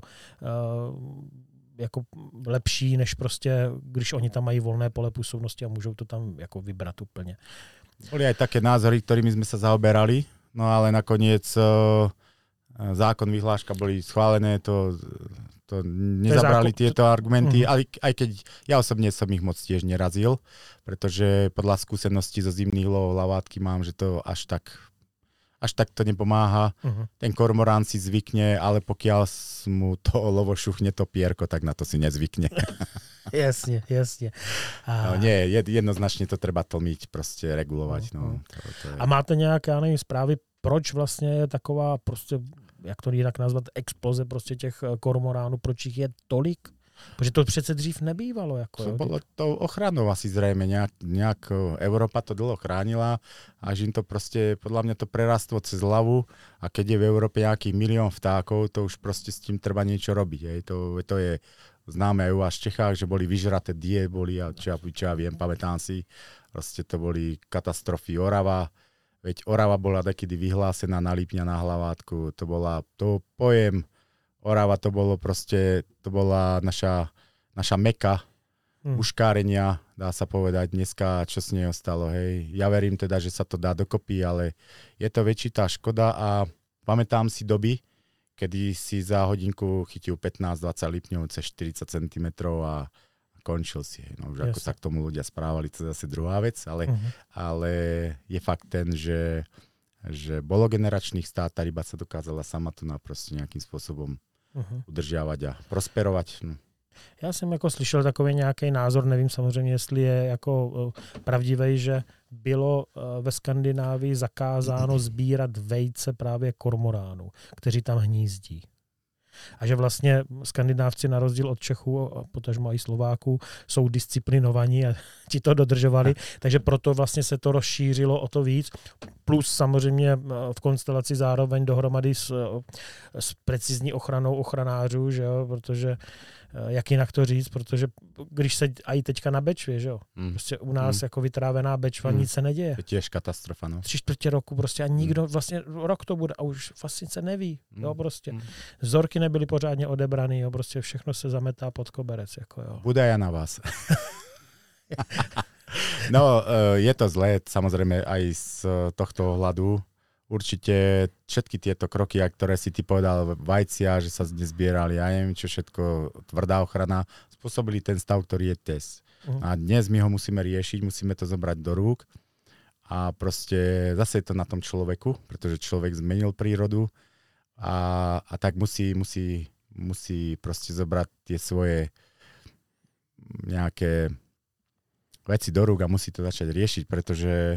lepší, než prostě, když oni tam mají volné pole působnosti a můžou to tam jako vybrat úplně. Boli aj také názory, ktorými sme sa zaoberali, no ale nakoniec zákon, vyhláška boli schválené, to nezabrali tieto argumenty, ale aj keď ja osobne som ich moc tiež nerazil, pretože podľa skúseností zo zimných lovov lavátky mám, že to až tak to nepomáha. Ten kormorán si zvykne, ale pokiaľ mu to lovo šuchne to pierko, tak na to si nezvykne. Jasne. No, nie, jednoznačne to treba tlmiť, proste regulovať. No, to je... A máte nějaké, já nevím, zprávy, proč vlastně je taková, prostě, jak to jinak nazvat, exploze prostě těch kormoránů, proč jich je tolik? Protože to přece dřív nebývalo. Jako, to bolo tou ochranou asi zrejme. Nejak Európa to dlho chránila, až im to proste, podľa mňa to prerastlo cez hlavu a keď je v Európe nejaký 1 000 000 vtákov, to už proste s tým treba niečo robiť. Hej. To je známe aj u vás v Čechách, že boli vyžraté boli a čo ja viem, pamätám si, proste to boli katastrofy. Orava, veď Orava bola takedy vyhlásená na Lipňa na hlavátku, to pojem Orava to bola naša meka uškárenia, dá sa povedať, dneska čo s nej ostalo, hej. Ja verím teda, že sa to dá dokopy, ale je to väčšitá škoda a pamätám si doby, kedy si za hodinku chytil 15-20 lipňov cez 40 cm a končil si. No už ako sa k tomu ľudia správali, to je zase druhá vec, ale je fakt ten, že bolo generačných stát, tá ryba sa dokázala sama tu naprosto nejakým spôsobom udržiavať a prosperovať. No. Já jsem jako slyšel takový nějaký názor, nevím samozřejmě, jestli je jako pravdivý, že bylo ve Skandinávii zakázáno sbírat vejce právě kormoránů, kteří tam hnízdí. A že vlastně Skandinávci na rozdíl od Čechů a potažmo i Slováků jsou disciplinovaní a ti to dodržovali, takže proto vlastně se to rozšířilo o to víc. Plus samozřejmě v konstelaci zároveň dohromady s precizní ochranou ochranářů, že jo, protože jak jinak to říct, protože když se i teďka na Bečvě, že jo, prostě u nás jako vytrávená Bečva nic se neděje. To tiež katastrofa, no. 3/4 roku prostě a nikdo, vlastně rok to bude a už vlastně se neví, jo, prostě. Vzorky nebyly pořádně odebraný, jo, prostě všechno se zametá pod koberec, jako jo. Bude ja na vás. No, je to zlé, samozrejme aj z tohto ohľadu. Určite všetky tieto kroky, ktoré si ty povedal, vajcia, že sa nezbierali, ja neviem čo všetko, tvrdá ochrana, spôsobili ten stav, ktorý je dnes. A dnes my ho musíme riešiť, musíme to zobrať do rúk a proste zase je to na tom človeku, pretože človek zmenil prírodu a tak musí proste zobrať tie svoje nejaké veci do rúk a musí to začať riešiť, pretože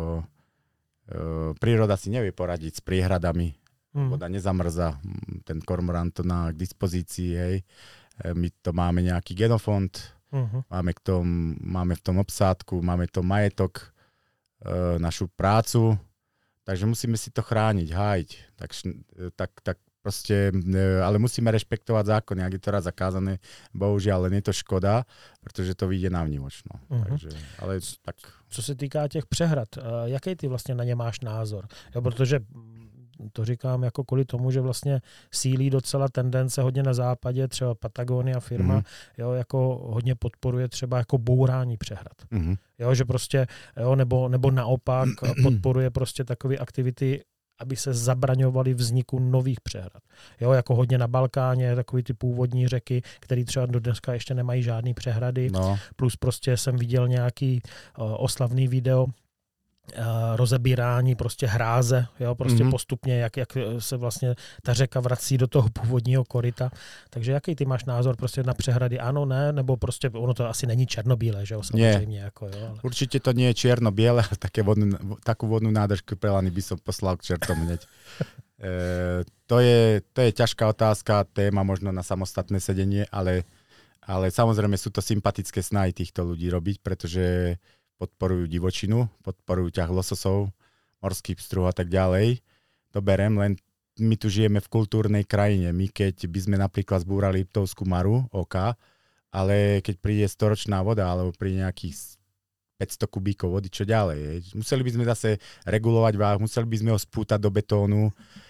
príroda si nevie poradiť s priehradami. Voda nezamrza, ten kormorán to má k dispozícii, hej. My to máme nejaký genofond, máme v tom obsádku, máme to majetok, našu prácu, takže musíme si to chrániť, hájiť. Tak Proste, ale musíme rešpektovať zákony, ak je to raz zakázané, bohužiaľ, len je to škoda, protože to vyjde na vnívoč. No. Takže, ale tak. Co se týká těch přehrad, jaký ty vlastně na ně máš názor? Jo, protože to říkám jako kvůli tomu, že vlastně sílí docela tendence hodně na západě, třeba Patagonia firma, jo, jako hodně podporuje třeba jako bourání přehrad. Jo, že prostě, jo, nebo naopak podporuje prostě takové aktivity, aby se zabraňovaly vzniku nových přehrad. Jo, jako hodně na Balkáně, takový ty původní řeky, které třeba do dneska ještě nemají žádný přehrady. No. Plus prostě jsem viděl nějaký oslavný video, rozebírání prostě hráze, jo, prostě postupně, jak se vlastně ta řeka vrací do toho původního koryta. Takže jaký ty máš názor prostě na přehrady? Ano, ne? Nebo prostě ono to asi není černobílé, že jo, samozřejmě. Jako, jo, ale... Určite to nie je čierno-biele, ale takú vodnú nádržku Prelany by som poslal k čertom hneď. To je ťažká otázka, téma možno na samostatné sedenie, ale samozrejme sú to sympatické snahy týchto ľudí robiť, pretože podporujú divočinu, podporujú ťah lososov, morský pstruh a tak ďalej. To berem, len my tu žijeme v kultúrnej krajine. My keď by sme napríklad zbúrali Liptovskú Maru, OK, ale keď príde storočná voda, alebo príde nejakých 500 kubíkov vody, čo ďalej? Museli by sme zase regulovať váh, museli by sme ho spútať do betónu.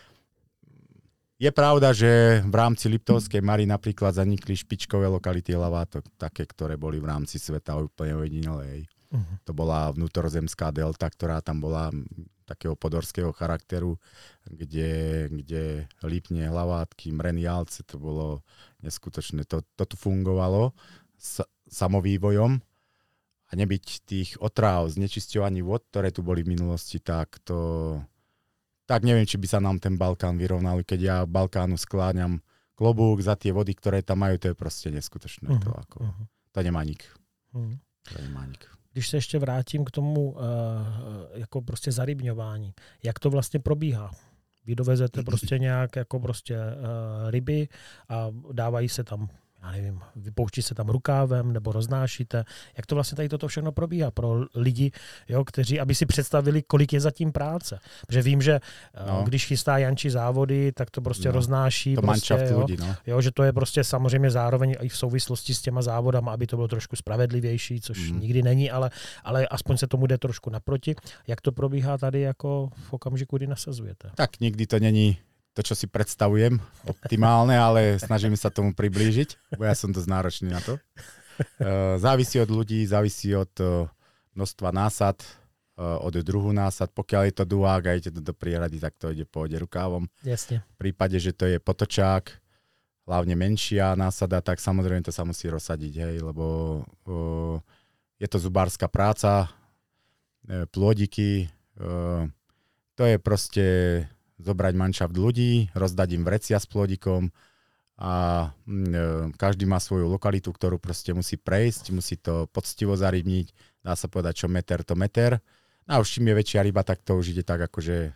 Je pravda, že v rámci Liptovskej Mary napríklad zanikli špičkové lokality hlavátok, také, ktoré boli v rámci sveta úplne ojedinelé. To bola vnútrozemská delta, ktorá tam bola takého podorského charakteru, kde Lipne, Hlavátky, Mreny, Jalce, to bolo neskutočné. To tu fungovalo samovývojom a nebyť tých otráv, znečisťovaní vod, ktoré tu boli v minulosti, tak neviem, či by sa nám ten Balkán vyrovnal. Keď ja Balkánu skláňam klobúk za tie vody, ktoré tam majú, to je proste neskutočné. To nemá nik. To nemá nik. Když se ještě vrátím k tomu jako prostě zarybňování, jak to vlastně probíhá? Vy dovezete prostě nějak jako prostě ryby a dávají se tam, já nevím, vypouští se tam rukávem nebo roznášíte. Jak to vlastně tady toto všechno probíhá pro lidi, jo, kteří, aby si představili, kolik je zatím práce. Protože vím, že když chystá Janči závody, tak to prostě roznáší. To prostě, lidí, jo, že to je prostě samozřejmě zároveň i v souvislosti s těma závodama, aby to bylo trošku spravedlivější, což nikdy není, ale aspoň se tomu jde trošku naproti. Jak to probíhá tady jako v okamžiku, kdy nasazujete? Tak nikdy to není to, čo si predstavujem, optimálne, ale snažíme sa tomu priblížiť, bo ja som dosť náročný na to. Závisí od ľudí, závisí od množstva násad, od druhu násad. Pokiaľ je to duák a idete do prierady, tak to ide pôjde rukávom. Jasne. V prípade, že to je potočák, hlavne menšia násada, tak samozrejme to sa musí rozsadiť, hej, lebo je to zubárska práca, plôdiky, to je proste zobrať manšaft ľudí, rozdať im vrecia s plodikom a každý má svoju lokalitu, ktorú proste musí prejsť, musí to poctivo zarybniť, dá sa povedať, čo meter to meter. A už čím je väčšia ryba, tak to už ide tak akože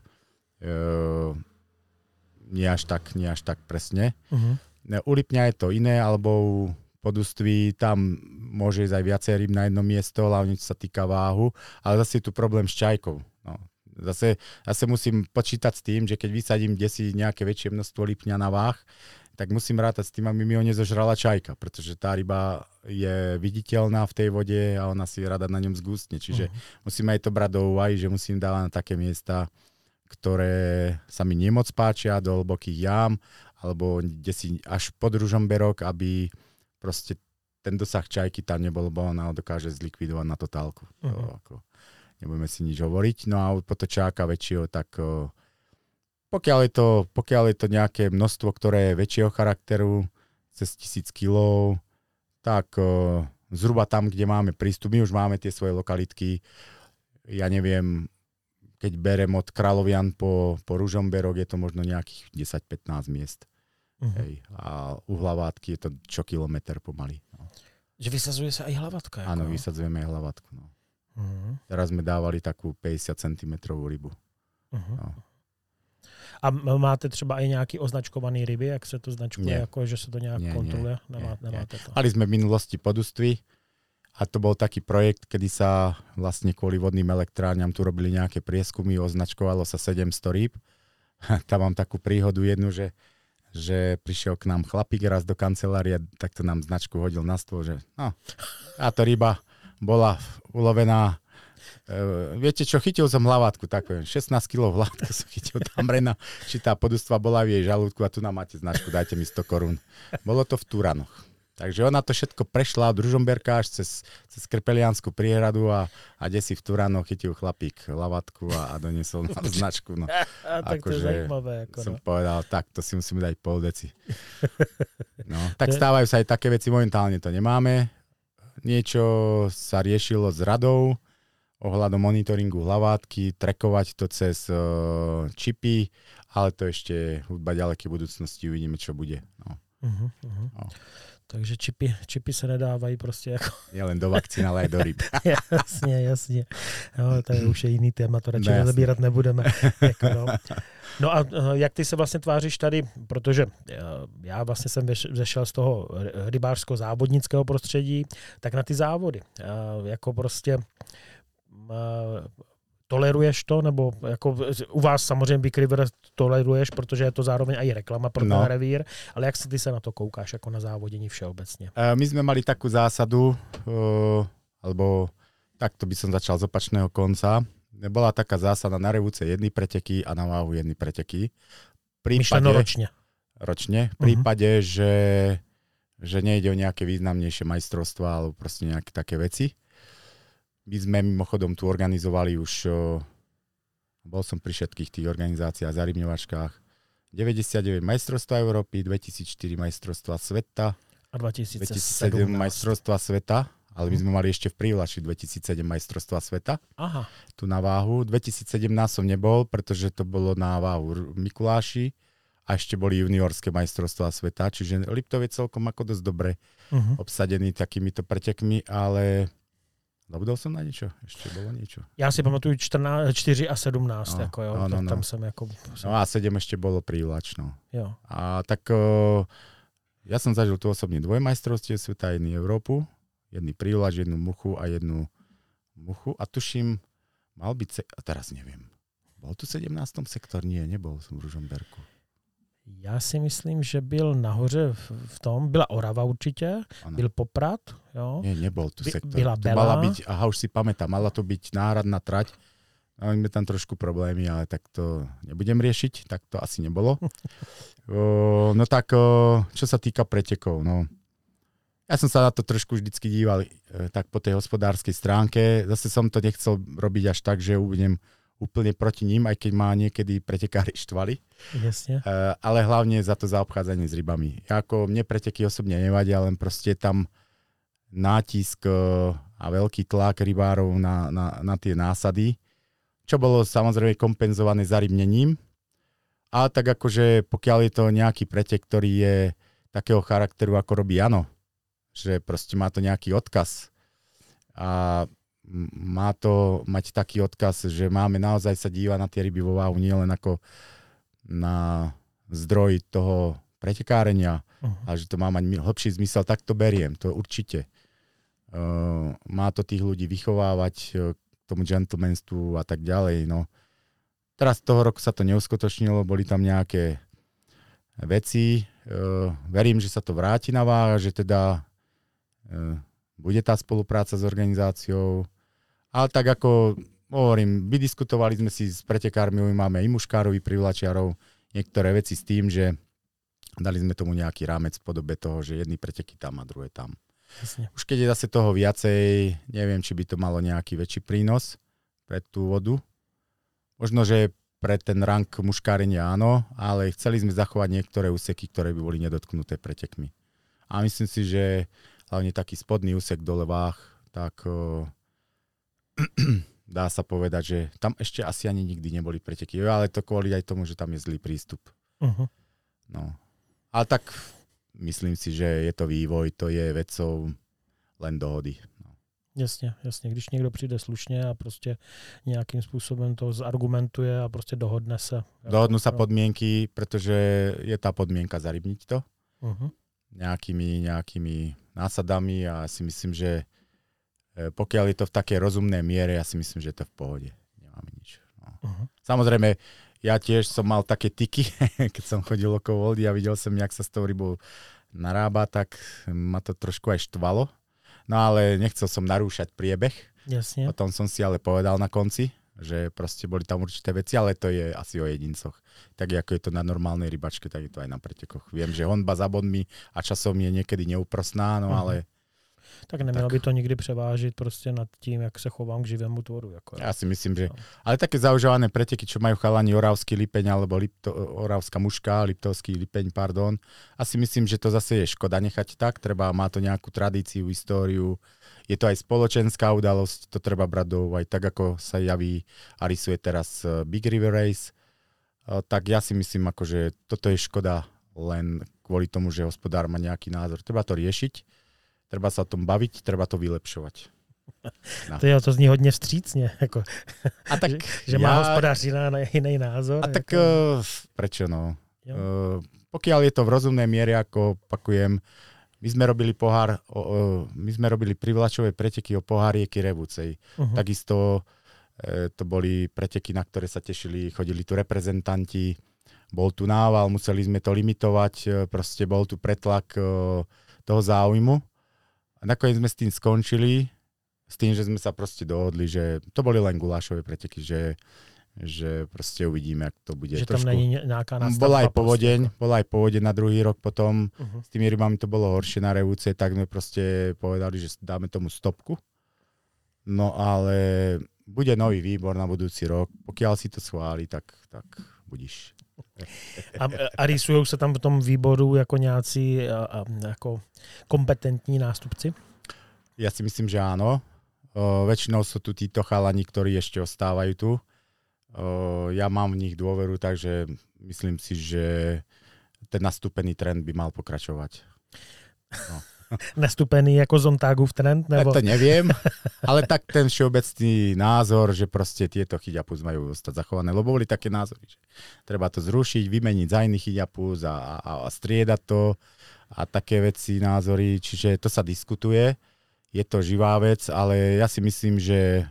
nie až tak presne. U Lipňa je to iné, alebo u Poduství tam môže ísť aj viacej ryb na jedno miesto, hlavne čo sa týka váhu, ale zase je tu problém s čajkou. No. Zase musím počítať s tým, že keď vysadím desi nejaké väčšie množstvo lipňa na váh, tak musím rátať s tým, aby mi ho nezožrala čajka, pretože tá ryba je viditeľná v tej vode a ona si rada na ňom zgústne. Čiže musím aj to brať do úvahy, že musím dávať na také miesta, ktoré sa mi nemoc páčia, do hlbokých jám, alebo desi až pod Ružomberok, aby proste ten dosah čajky tam nebol, bo ona ho dokáže zlikvidovať na totálku. Nebudeme si nič hovoriť. No a u potočáka väčšieho, tak pokiaľ je to nejaké množstvo, ktoré je väčšieho charakteru, cez 1000 kg, tak zhruba tam, kde máme prístup, my už máme tie svoje lokalitky. Ja neviem, keď berem od Kráľovian po Ružomberok, je to možno nejakých 10-15 miest. Hej. A u Hlavátky je to čo kilometr pomaly. No. Že vysazuje sa aj hlavátka? Áno, vysadzujeme aj Hlavátku. No. Teraz sme dávali takú 50 cm rybu. No. A máte třeba i nějaký označkovaný ryby, jak se to značkuje, jako, že se to nějak kontroluje? Nemáte to. Mali sme v minulosti Poduství a to bol taký projekt, kedy sa vlastne kvôli vodným elektrárňam tu robili nejaké prieskumy, označkovalo sa 700 rýb. Tam mám takú príhodu jednu, že že prišiel k nám chlapík raz do kancelárie, takto nám značku hodil na stôl, že no, táto ryba bola ulovená. Viete čo, chytil som hlavátku, tak poviem, 16 kg hlavátku som chytil tam rena, či tá podustva bola v jej žalúdku a tu nám máte značku, dajte mi 100 korún. Bolo to v Turanoch. Takže ona to všetko prešla od Ružomberka až cez Krpeliansku priehradu a desi v Turanoch chytil chlapík hlavátku a doniesol nám značku. No. Tak to je zajímavé. Som povedal, tak to si musíme dať pol deci. No, tak stávajú sa aj také veci, momentálne to nemáme. Niečo sa riešilo s radou ohľadom monitoringu hlavátky, trekovať to cez čipy, ale to ešte hudba ďalekej budúcnosti, uvidíme, čo bude. No. No. Takže čipy se nedávají prostě jako... Nielen do vakcín, ale aj do ryb. jasně. No, to je už jiný téma, to radši nezabírat nebudeme. Jako, no. No a jak ty se vlastně tváříš tady, protože já vlastně jsem zešel z toho rybářského závodnického prostředí, tak na ty závody. Jako prostě... Toleruješ to, nebo jako u vás samozřejmě Big River toleruješ, protože je to zároveň aj reklama pro ten revír, ale jak si ty se na to koukáš jako na závodění všeobecně? My sme mali takú zásadu, alebo takto by som začal z opačného konca. Bola taká zásada na revúce jedny preteky a na váhu jedny preteky. Myšleno ročne. Ročne. V prípade, že nejde o nejaké významnejšie majstrovstvá alebo proste nejaké také veci. My sme mimochodom tu organizovali už, bol som pri všetkých tých organizáciách, zarybňovačkách, 99 majstrovstvá Európy, 2004 majstrovstvá sveta a 2007 majstrovstvá sveta, ale my sme mali ešte v Prívlači 2007 majstrovstvá sveta. Aha. Tu na váhu. 2017 som nebol, pretože to bolo na váhu Mikuláši a ešte boli juniorské majstrovstvá sveta, čiže Liptov je celkom ako dosť dobre obsadený takýmito pretekmi, ale... Zabudol som na niečo? Ešte bolo niečo. Já si pamatuju 4 a 17. Jako, jo, tam jsem jako... No a 7 ešte bolo Prívlač. No. Jo. A tak ja som zažil tu osobne dvojmajstrovstie sveta, jednu Európu, jedný Prívlač, jednu Muchu a jednu Muchu. A tuším, mal byť... A teraz neviem. Bol tu 17. sektor? Nie, nebol som v Ružomberku. Já si myslím, že byl nahoře v tom, byla Orava určitě, ano. Byl Poprad, jo. Nie, nebol tu sektor. Byla Bela. Mala byť, aha, už si pamätám, mala to byť náhradná trať. Máme tam trošku problémy, ale tak to nebudem riešiť, tak to asi nebolo. No tak, čo sa týka pretekov, no. Ja som sa na to trošku vždycky díval tak po tej hospodárskej stránke. Zase som to nechcel robiť až tak, že budem úplne proti ním, aj keď ma niekedy pretekári štvali. Jasne. Ale hlavne za to zaobchádzanie s rybami. Mne preteky osobne nevadia, len proste tam nátisk a veľký tlak rybárov na tie násady, čo bolo samozrejme kompenzované zarybnením. A tak akože pokiaľ je to nejaký pretek, ktorý je takého charakteru, ako robí Jano, že proste má to nejaký odkaz a má to mať taký odkaz, že máme naozaj sa dívať na tie ryby vo váhu, nie len ako na zdroj toho pretekárenia, a že to má mať hlbší zmysel, tak to beriem, to určite. Má to tých ľudí vychovávať k tomu gentlemanstvu a tak ďalej. No. Teraz toho roku sa to neuskutočnilo, boli tam nejaké veci. Verím, že sa to vráti na váh, že teda bude tá spolupráca s organizáciou. Ale tak ako hovorím, vydiskutovali sme si s pretekármi, máme i muškárov, i privlačiarov niektoré veci s tým, že dali sme tomu nejaký rámec v podobe toho, že jedny preteky tam a druhé tam. Jasne. Už keď je zase toho viacej, neviem, či by to malo nejaký väčší prínos pre tú vodu. Možno, že pre ten rang muškárenia áno, ale chceli sme zachovať niektoré úseky, ktoré by boli nedotknuté pretekmi. A myslím si, že hlavne taký spodný úsek dole váh, tak dá sa povedať, že tam ešte asi ani nikdy neboli preteky, ale to kvôli aj tomu, že tam je zlý prístup. No. Ale tak myslím si, že je to vývoj, to je vecou len dohody. No. Jasně. Když někdo přijde slušně a prostě nějakým způsobem to zargumentuje a prostě dohodne se. Dohodnú sa podmienky, pretože je tá podmienka zarybniť to. Nejakými násadami a ja si myslím, že pokiaľ je to v takej rozumnej miere, ja si myslím, že je to v pohode. Nemáme nič. No. Samozrejme, Ja tiež som mal také tiky, keď som chodil okolo vody a videl som, jak sa s tou rybou narába, tak ma to trošku aj štvalo. No ale nechcel som narúšať priebeh. Jasne. Potom som si ale povedal na konci, že proste boli tam určité veci, ale to je asi o jedincoch. Tak ako je to na normálnej rybačke, tak je to aj na pretekoch. Viem, že honba za bodmi a časom je niekedy neúprosná, no ale... Tak nemělo by to nikdy převážit prostě nad tím, jak se chovám k živému tvoru. Jako. Ja si myslím, že... Ale také zaužívané preteky, čo majú chalani Oravský Lipeň alebo Oravská Muška, Liptovský Lipeň, pardon. Asi myslím, že to zase je škoda nechať tak. Má to nejakú tradíciu, históriu. Je to aj spoločenská udalosť, to treba brať do úvahy. Tak ako sa javí a rysuje teraz Big River Race, tak ja si myslím, že toto je škoda len kvôli tomu, že hospodár má nejaký názor. Treba to riešiť. Treba sa o tom baviť, treba to vylepšovať. No. To zní hodně vstřícně. Jako, a tak že má hospodář jiný názor. A tak prečo no? Pokiaľ je to v rozumnej miere, ako opakujem, my sme robili my sme robili privlačové preteky o pohár rieky Revúcej. Takisto to boli preteky, na ktoré sa tešili, chodili tu reprezentanti, bol tu nával, museli sme to limitovať, proste bol tu pretlak toho záujmu. A nakoniec sme s tým skončili, s tým, že sme sa proste dohodli, že to boli len gulášové preteky, že proste uvidíme, jak to bude. Že tam není nejaká nastavba. Bola aj povodeň na druhý rok potom. S tými rybami to bolo horšie na Revúce, tak sme proste povedali, že dáme tomu stopku. No ale bude nový výbor na budúci rok. Pokiaľ si to schváli, tak budíš. A rýsujou se tam v tom výboru jako nějací jako kompetentní nástupci? Ja si myslím, že áno. Väčšinou sú tu títo chalani, ktorí ešte ostávajú tu. Ja mám v nich dôveru, takže myslím si, že ten nastúpený trend by mal pokračovať. No. Nastupený jako Zontágův trend? Nebo? To neviem, ale tak ten všeobecný názor, že proste tieto chyťapus majú ostať zachované, lebo boli také názory, že treba to zrušiť, vymeniť za iný chyťapus a striedať to a také veci, názory, čiže to sa diskutuje, je to živá vec, ale ja si myslím, že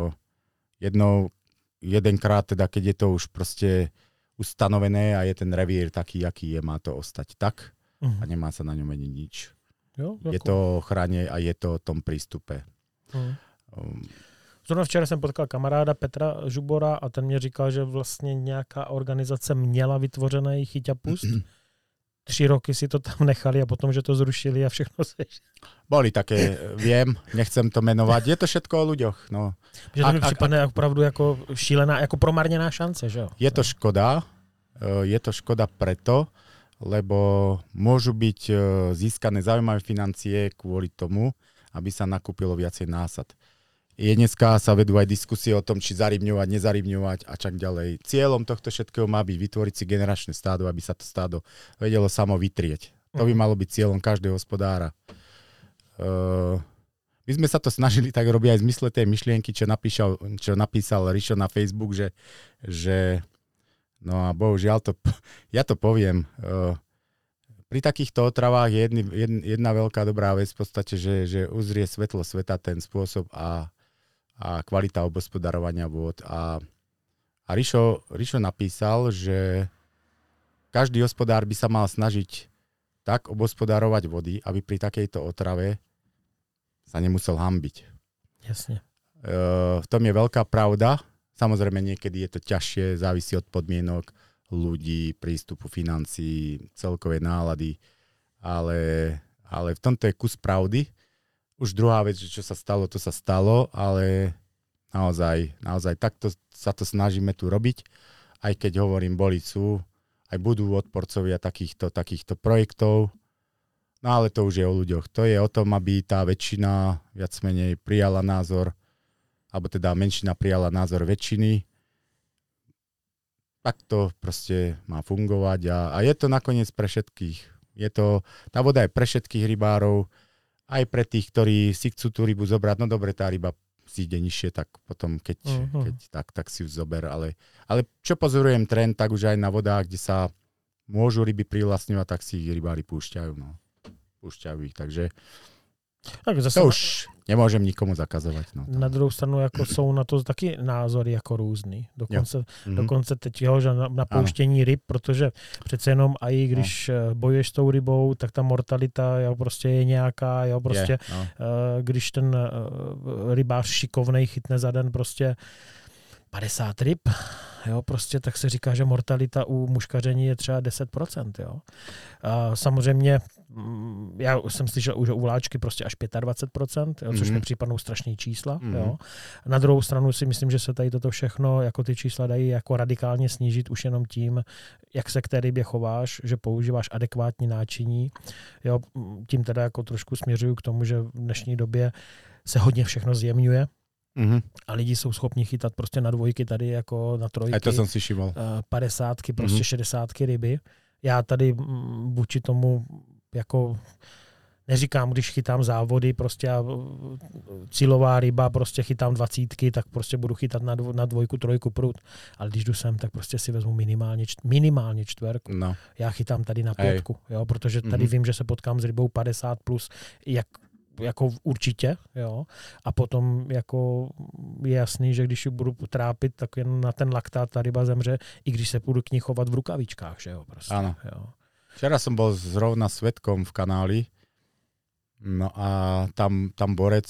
jedenkrát, teda keď je to už proste ustanovené a je ten revír taký, aký je, má to ostať tak a nemá sa na ňom meniť nič. Jo, je to o ochrane a je to o tom prístupe. Zrovna včera jsem potkal kamaráda Petra Žubora a ten mě říkal, že vlastně nějaká organizace měla vytvořený chyťapust. 3 roky si to tam nechali a potom, že to zrušili a všechno se... Boli také, viem, nechcem to menovať. Je to všetko o ľuďoch. No. Že to mi připadne opravdu jako šílená, jako promarněná šance, že jo? Je to škoda. Je to škoda preto, lebo môžu byť získané zaujímavé financie kvôli tomu, aby sa nakúpilo viacej násad. Dneska sa vedú aj diskusie o tom, či zarybňovať, nezarybňovať a čak ďalej. Cieľom tohto všetkého má byť vytvoriť si generačné stádo, aby sa to stádo vedelo samo vytrieť. To by malo byť cieľom každého hospodára. My sme sa to snažili tak robiť aj v zmysle tej myšlienky, čo napísal Rišo na Facebook, že no a bohužiaľ, ja to poviem, pri takýchto otravách je jedna veľká dobrá vec v podstate, že uzrie svetlo sveta ten spôsob a kvalita obospodarovania vôd. A Rišo napísal, že každý hospodár by sa mal snažiť tak obospodarovať vody, aby pri takejto otrave sa nemusel hanbiť. Jasne. V tom je veľká pravda. Samozrejme, niekedy je to ťažšie, závisí od podmienok ľudí, prístupu financií, celkovej nálady, ale v tomto je kus pravdy. Už druhá vec, že čo sa stalo, to sa stalo, ale naozaj takto sa to snažíme tu robiť, aj keď hovorím, sú, aj budú odporcovia takýchto projektov, no ale to už je o ľuďoch. To je o tom, aby tá väčšina viac menej prijala názor, alebo teda menšina prijala názor väčšiny. Tak to proste má fungovať a je to nakoniec pre všetkých. Tá voda je pre všetkých rybárov, aj pre tých, ktorí si chcú tú rybu zobrať. No dobre, tá ryba zíde nižšie, tak potom, keď tak si ju zober. Ale čo pozorujem trend, tak už aj na vodách, kde sa môžu ryby privlastňovať, tak si ich rybári púšťajú. No. Púšťajú ich, takže... Tak zase nemôžem nikomu zakazovať. No, na druhou stranu jako jsou na to taky názory jako různý. Dokonce teď že na pouštění ryb, protože přece jenom i když bojuješ s tou rybou, tak ta mortalita prostě je nějaká, prostě když ten rybář šikovnej chytne za den prostě 50 ryb, prostě tak se říká, že mortalita u muškaření je třeba 10%. A samozřejmě já jsem slyšel, že u vláčky prostě až 25%, což mi připadnou strašný čísla. Na druhou stranu si myslím, že se tady toto všechno, jako ty čísla dají jako radikálně snížit už jenom tím, jak se k té rybě chováš, že používáš adekvátní náčiní. Tím teda jako trošku směřuju k tomu, že v dnešní době se hodně všechno zjemňuje. A lidi jsou schopni chytat prostě na dvojky tady jako na trojky. A to jsem si všiml. 50, prostě 60 ryby. Já tady vůči tomu jako neříkám, když chytám závody, prostě cílová ryba, prostě chytám 20, tak prostě budu chytat na dvojku, trojku prut. Ale když jdu sem, tak prostě si vezmu minimálně čtverku. No. Já chytám tady na 5, protože tady vím, že se potkám s rybou 50 plus, jako určitě, a potom jako je jasný, že když ji budu trápit, tak jen na ten laktát ta ryba zemře, i když se budu k ní chovat v rukavičkách, že jo, prostě. Áno. Včera som bol zrovna svedkom v kanáli, no a tam borec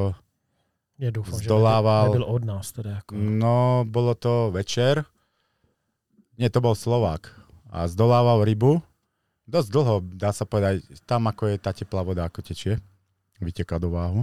zdolával... Že nebyl od nás teda jako. No, bolo to večer, nie, to bol Slovák a zdolával rybu, dosť dlho, dá sa povedať, tam ako je tá teplá voda, ako tečie. Vyteká do váhu.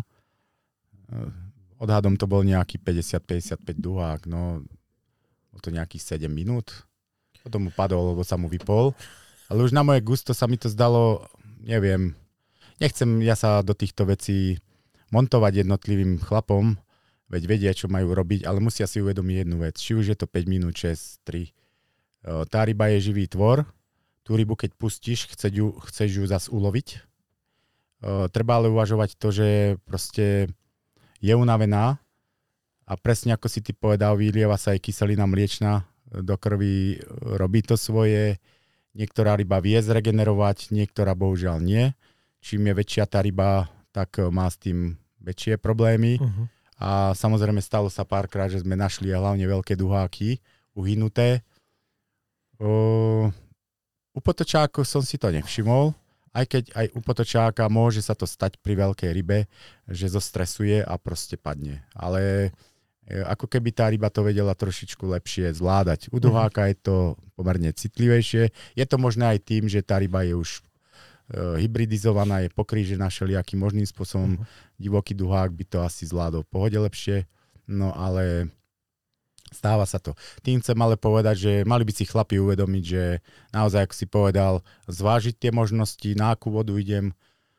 Odhadom to bol nejaký 50-55 duhák, no to nejakých 7 minút. Potom mu padol, lebo sa mu vypol. Ale už na moje gusto sa mi to zdalo, neviem, nechcem ja sa do týchto vecí montovať jednotlivým chlapom, veď vedia, čo majú robiť, ale musia si uvedomiť jednu vec. Či už je to 5 minút, 6, 3. Tá ryba je živý tvor. Tú rybu, keď pustíš, chceš ju zas uloviť. Treba ale uvažovať to, že proste je unavená a presne ako si ty povedal, vylieva sa aj kyselina mliečna do krvi, robí to svoje. Niektorá ryba vie zregenerovať, niektorá bohužiaľ nie. Čím je väčšia tá ryba, tak má s tým väčšie problémy. A samozrejme stalo sa párkrát, že sme našli hlavne veľké duháky uhynuté. U potočákov som si to nevšimol. Aj keď aj u potočáka môže sa to stať pri veľkej rybe, že zostresuje a proste padne. Ale ako keby tá ryba to vedela trošičku lepšie zvládať. U duháka je to pomerne citlivejšie. Je to možné aj tým, že tá ryba je už hybridizovaná, je pokrížená všelijakým možným spôsobom. Divoký duhák by to asi zvládol v pohode lepšie. No ale... Stáva sa to. Tým chcem ale povedať, že mali by si chlapi uvedomiť, že naozaj, ako si povedal, zvážiť tie možnosti, na akú vodu idem,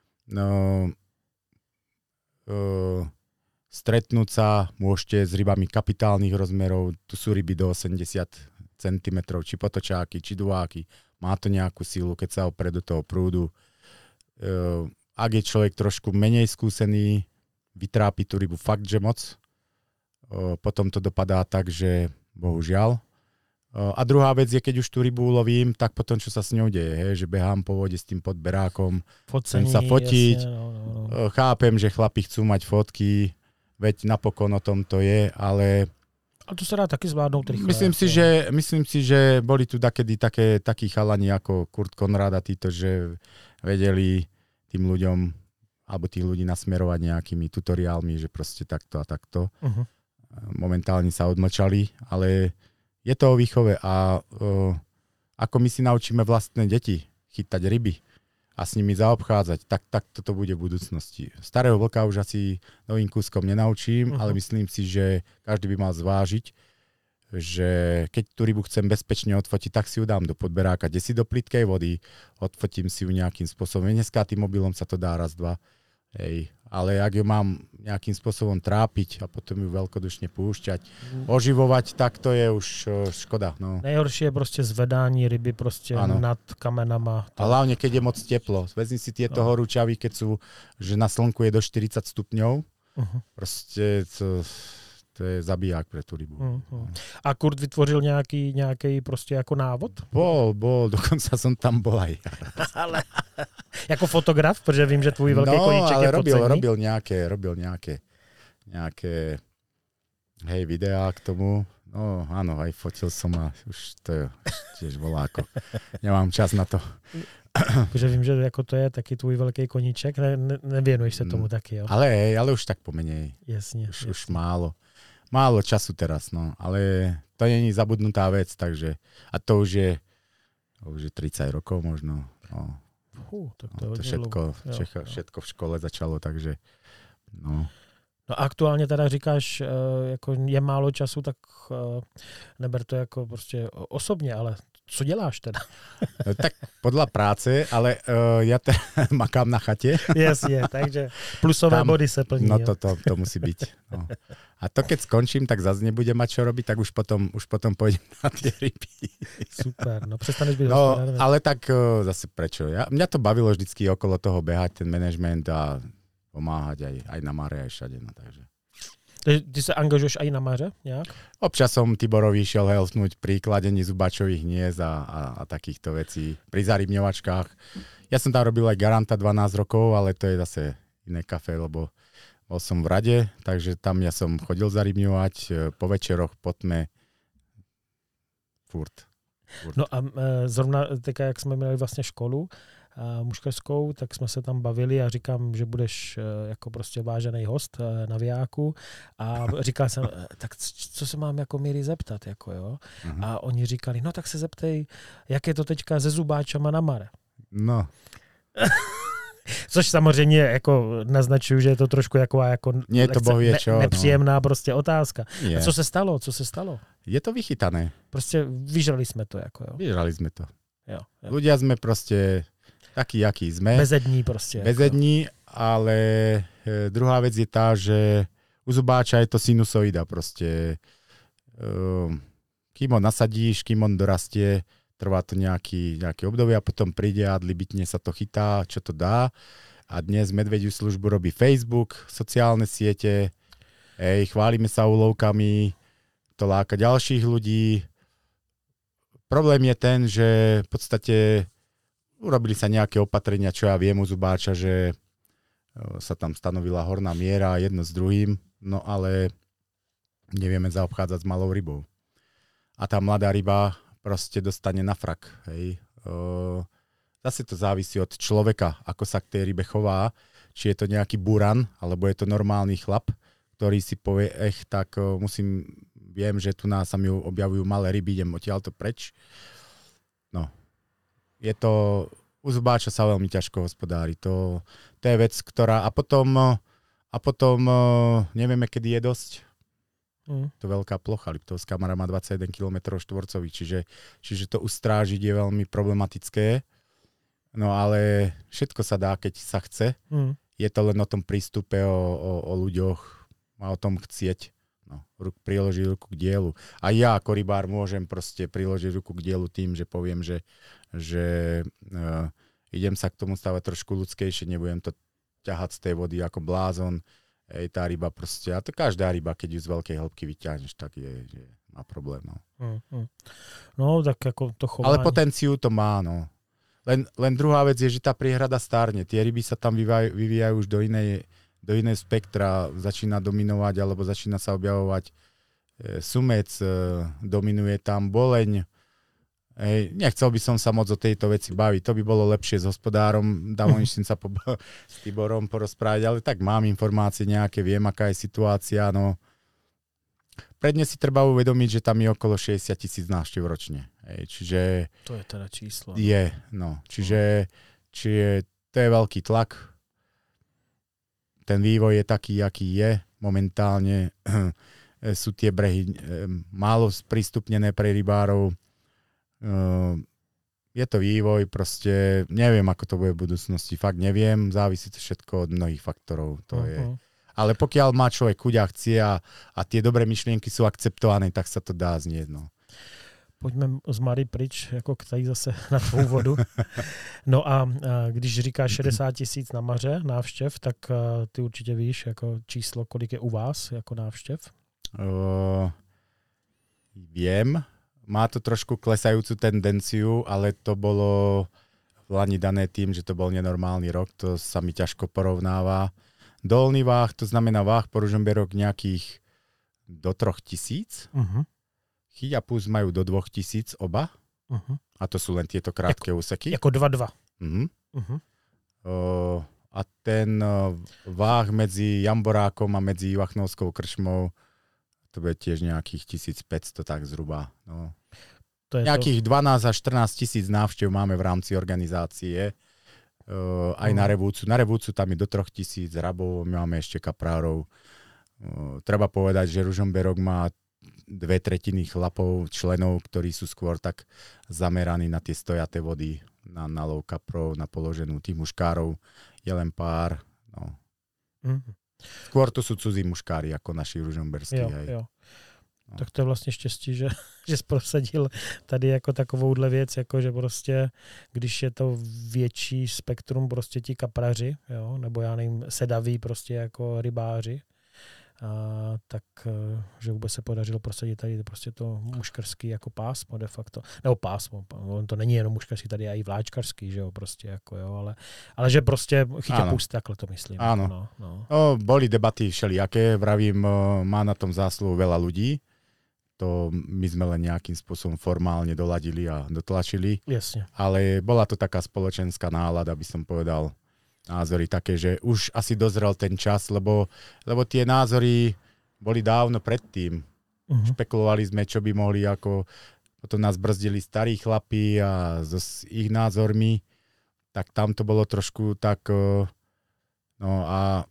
stretnúť sa, môžete s rybami kapitálnych rozmerov, tu sú ryby do 80 cm, či potočáky, či duváky, má to nejakú silu, keď sa opre do toho prúdu. Ak je človek trošku menej skúsený, vytrápi tú rybu fakt, že moc, potom to dopadá tak, že bohužiaľ. A druhá vec je, keď už tú rybu ulovím, tak potom, čo sa s ňou deje, že behám po vode s tým podberákom, chcem sa fotiť, jasne, chápem, že chlapi chcú mať fotky, veď napokon o tom to je, ale... A to sa dá taky zvládnout rýchle. Myslím si, že boli tu takí chalani ako Kurt Konrad a títo, že vedeli tým ľuďom, alebo tých ľudí nasmerovať nejakými tutoriálmi, že proste takto a takto. Momentálne sa odmlčali, ale je to o výchove a ako my si naučíme vlastné deti chytať ryby a s nimi zaobchádzať, tak toto bude v budúcnosti. Starého vlka už asi novým kúskom nenaučím, ale myslím si, že každý by mal zvážiť, že keď tú rybu chcem bezpečne odfotiť, tak si ju dám do podberáka, kde si do plytkej vody, odfotím si ju nejakým spôsobom. Dneska tým mobilom sa to dá raz, dva. Hej. Ale ak ju mám nejakým spôsobom trápiť a potom ju veľkodušne púšťať, oživovať, tak to je už škoda. No. Nejhoršie je prostě zvedání ryby prostě nad kamenama. A hlavne, keď je moc teplo. Vezmi si tieto horúčavy, keď sú, že na slnku je do 40 stupňov. Proste to je zabiják pre tú rybu. A Kurt vytvořil nějaký prostě jako návod? Bol, dokonca som tam bol aj. Ale jako fotograf, protože vím, že tvůj velký koníček je podcenný. robil nejaké videá k tomu. No áno, aj fotil som a už to je tiež voláko. Nemám čas na to. Protože vím, že jako to je taky tvůj velký koníček, nevěnuješ se tomu taky, jo? Ale už tak pomenej. Jasně. Už málo času teraz, no. Ale to není zabudnutá vec, takže a to už je 30 rokov možno. No. Tak to všetko v škole začalo, takže no. No aktuálně teda říkáš, jako je málo času, tak neber to jako prostě osobně, ale co děláš teda? No, tak podľa práce, ale ja makám na chate. Jasně, takže plusové tam, body se plní. No to musí byť. No. A to keď skončím, tak zase nebudem mať čo robiť, tak už potom pôjdem na tie ryby. Super, no prestaneš byť hospodár. Ale tak zase prečo? Mňa to bavilo vždycky okolo toho behať, ten management a pomáhať aj na mare, aj všade. No, takže. Ty sa angažuješ aj na maře nejak? Občas som Tiborovi šiel helpnúť pri kladení zubáčových hniezd a takýchto vecí. Pri zarybňovačkách. Ja som tam robil aj garanta 12 rokov, ale to je zase iné kafe, lebo bol som v rade, takže tam ja som chodil zarybňovať po večeroch, po tme. Furt. No a zrovna teďka, jak jsme měli vlastně školu muškařskou, tak jsme se tam bavili a říkám, že budeš jako prostě vážený host na Vijáku a říkal jsem, tak co se mám jako Míry zeptat, jako jo. A oni říkali, no tak se zeptej, jak je to teďka se zubáčama na mare. No. Což samozřejmě jako naznačuju, že je to trošku jako nepříjemná prostě otázka. A co se stalo? Je to vychytané. Prostě vyžrali jsme to. Jako, jo. Vyžrali sme to. Jo. Ľudia sme proste takí, akí sme. Bezední prostě. Bezední, ale druhá vec je tá, že u zubáča je to sinusoida proste. Kým ho nasadíš, kým on dorastie, trvá to nejaké obdobie a potom príde a dlibitne sa to chytá, čo to dá. A dnes medvediu službu robí Facebook, sociálne siete, chválime sa úlovkami, to láka ďalších ľudí. Problém je ten, že v podstate urobili sa nejaké opatrenia, čo ja viem u zubáča, že sa tam stanovila horná miera jedno s druhým, no ale nevieme zaobchádzať s malou rybou. A tá mladá ryba proste dostane na frak. Hej. Zase to závisí od človeka, ako sa k tej rybe chová, či je to nejaký buran, alebo je to normálny chlap, ktorý si povie, tak viem, že tu sa mi objavujú malé ryby, idem odtiaľto preč. No. Je to, u zubáča sa veľmi ťažko hospodári. To je vec, ktorá, a potom nevieme, kedy je dosť. To veľká plocha, Liptovská Mara má 21 km štvorcových, čiže to ustrážiť je veľmi problematické. No ale všetko sa dá, keď sa chce. Je to len o tom prístupe, o ľuďoch a o tom chcieť. No, priložiť ruku k dielu. A ja ako rybár môžem proste priložiť ruku k dielu tým, že poviem, že idem sa k tomu stavať trošku ľudskejšie, nebudem to ťahať z tej vody ako blázon. Tá ryba proste, a to každá ryba, keď ju z veľkej hĺbky vyťahneš, tak má problém. No. No, tak ako to chovanie. Ale potenciu to má, no. Len druhá vec je, že tá priehrada stárne. Tie ryby sa tam vyvíjajú už do inej spektra, začína dominovať, alebo začína sa objavovať sumec, dominuje tam boleň. Nechcel by som sa moc o tejto veci baviť, to by bolo lepšie s hospodárom, dávoničným sa s Tiborom porozprávať, ale tak mám informácie nejaké, viem, aká je situácia, no. Predne si treba uvedomiť, že tam je okolo 60 000 návštev ročne, čiže... To je teda číslo. Je, no, čiže to je veľký tlak, ten vývoj je taký, aký je, momentálne sú tie brehy málo sprístupnené pre rybárov. Je to vývoj, proste neviem, ako to bude v budúcnosti, fakt neviem, závisí to všetko od mnohých faktorov. To je. Ale pokiaľ má človek chuť a chcie a tie dobré myšlienky sú akceptované, tak sa to dá znieť. No. Pojďme z Mary pryč, jako tady zase na tvou vodu. No a když říkáš 60 000 na maře návštěv, tak ty určitě víš jako číslo, kolik je u vás jako návštěv? Viem, má to trošku klesajúcu tendenciu, ale to bolo v lani dané tým, že to bol nenormálny rok, to sa mi ťažko porovnáva. Dolný váh, to znamená váh po Ružomberok nejakých do 3000. Chyťapus majú do 2000 oba. A to sú len tieto krátke úseky. Jako 2-2. A ten váh medzi Jamborákom a medzi Ivachnovskou krčmou, to bude tiež nejakých 1500, tak zhruba. No. To je nejakých 12 až 14 tisíc návštev máme v rámci organizácie. Aj na Revúcu. Na Revúcu tam je do 3000 rabov, my máme ešte kaprárov. Treba povedať, že Ružomberok má 2/3 chlapov, členov, ktorí sú skôr tak zameraní na tie stojaté vody, na lov kaprov, na položenú tých muškárov. Je len pár. No. Skôr to sú cudzí muškári, ako naši ružomberskí. Jo. No. Tak to je vlastně štěstí, že jsi prosadil tady jako takovouhle věc, jako že prostě, když je to větší spektrum prostě ti kapraři, jo, nebo já nevím, sedaví prostě jako rybáři, tak že vůbec se podařilo prosadit tady prostě to muškarský jako pásmo de facto. Nebo pásmo, on to není jenom muškarský, tady je i vláčkarský, že jo, prostě jako jo, ale že prostě chyťapus, takhle to myslím. Áno. No, boli debaty všelijaké, vravím, má na tom zásluhu veľa ľudí. To my sme len nejakým spôsobom formálne doladili a dotlačili. Jasne. Ale bola to taká spoločenská nálada, by som povedal, názory také, že už asi dozrel ten čas, lebo tie názory boli dávno predtým. Špekulovali sme, čo by mohli, ako potom nás brzdili starí chlapi a s ich názormi, tak tam to bolo trošku tak, no a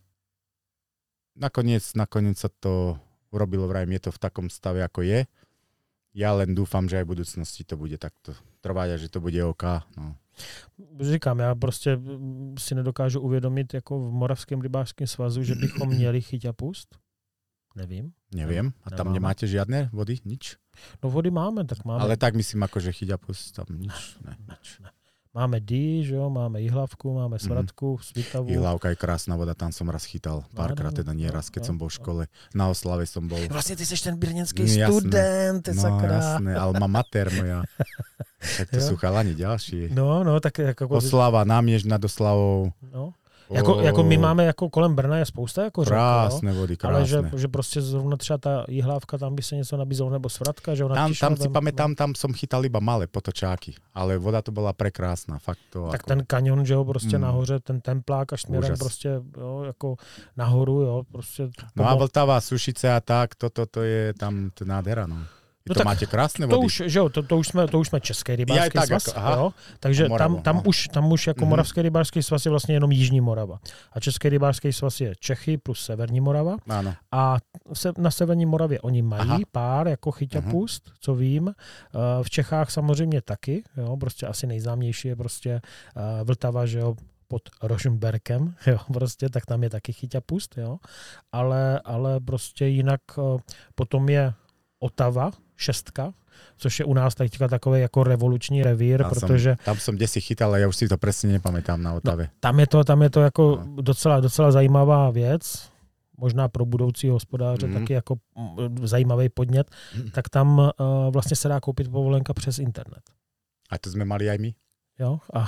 nakoniec sa to urobilo, vrajím, je to v takom stave, ako je. Ja len dúfam, že aj v budúcnosti to bude takto trvať a že to bude OK. No. Říkám, já prostě si nedokážu uvědomit jako v Moravském rybářském svazu, že bychom měli chyťapust. Nevím. A tam nemáte žiadne vody? Nič? No vody máme, tak máme. Ale tak myslím, ako že chyťapust tam nič. Ne. Máme dý, že jo, máme Jihlavku, máme Svratku, Svitavu. Jihlavka je krásna voda, tam som raz chytal. Párkrát, teda nie raz, keď som bol v škole. Na oslave som bol. Vlastne ty seš ten brněnský student, ty sakra. Jasné, alma mater moja. Tak to sú chalani ďalší. No, tak jako... Oslava, Náměšť nad Oslavou. No. Jako my máme jako kolem Brna je spousta jako řek, krásné vody, krásné. Ale že prostě zrovna třeba ta Jihlávka, tam by se něco nabízelo, nebo Svratka, že ona tam si pamätám, tam som chytal iba malé potočáky, ale voda to bola prekrásna, fakt to. Tak ako... ten kanion, že jo, prostě nahoře, ten templák až směrem prostě, jo, jako nahoru, jo, prostě. No a Vltava, Sušice a tak, to je tam to nádhera, no. No to tak máte krásné vody. To už jsme Český rybářský svaz, jo? Takže tam už jako Moravský rybářský svaz je vlastně jenom Jižní Morava. A Český rybářský svaz je Čechy plus Severní Morava. Ano. A na Severní Moravě oni mají pár jako chyťapust, co vím. V Čechách samozřejmě taky, jo? Prostě asi nejznámější je prostě Vltava, že jo, pod Rožmberkem, jo, prostě, tak tam je taky chyťapust, jo. Ale prostě jinak potom je Otava, 6, což je u nás teďka takový jako revoluční revír, protože... Tam som kde si chytal, ale ja už si to presne nepamätám na Otave. No, tam je to jako docela zajímavá věc, možná pro budoucího hospodáře taky jako zajímavý podnět, tak tam vlastně se dá koupit povolenka přes internet. A to sme mali aj my? Jo, a...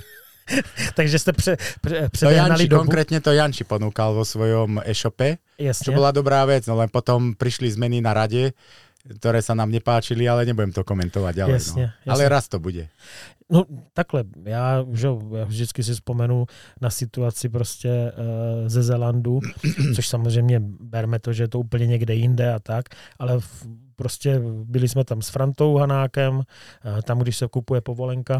Takže ste prehnali dobu. Konkrétne to Janči ponúkal vo svojom e-shope, Jasne. Čo bola dobrá vec, no len potom prišli zmeny na rade, ktoré sa nám nepáčili, ale nebudem to komentovať ďalej. Jasne. Ale raz to bude. No takhle, já vždycky si vzpomenu na situaci prostě ze Zelandu, což samozřejmě berme to, že je to úplně někde jinde a tak, ale prostě byli jsme tam s Frantou Hanákem, tam, když se kupuje povolenka,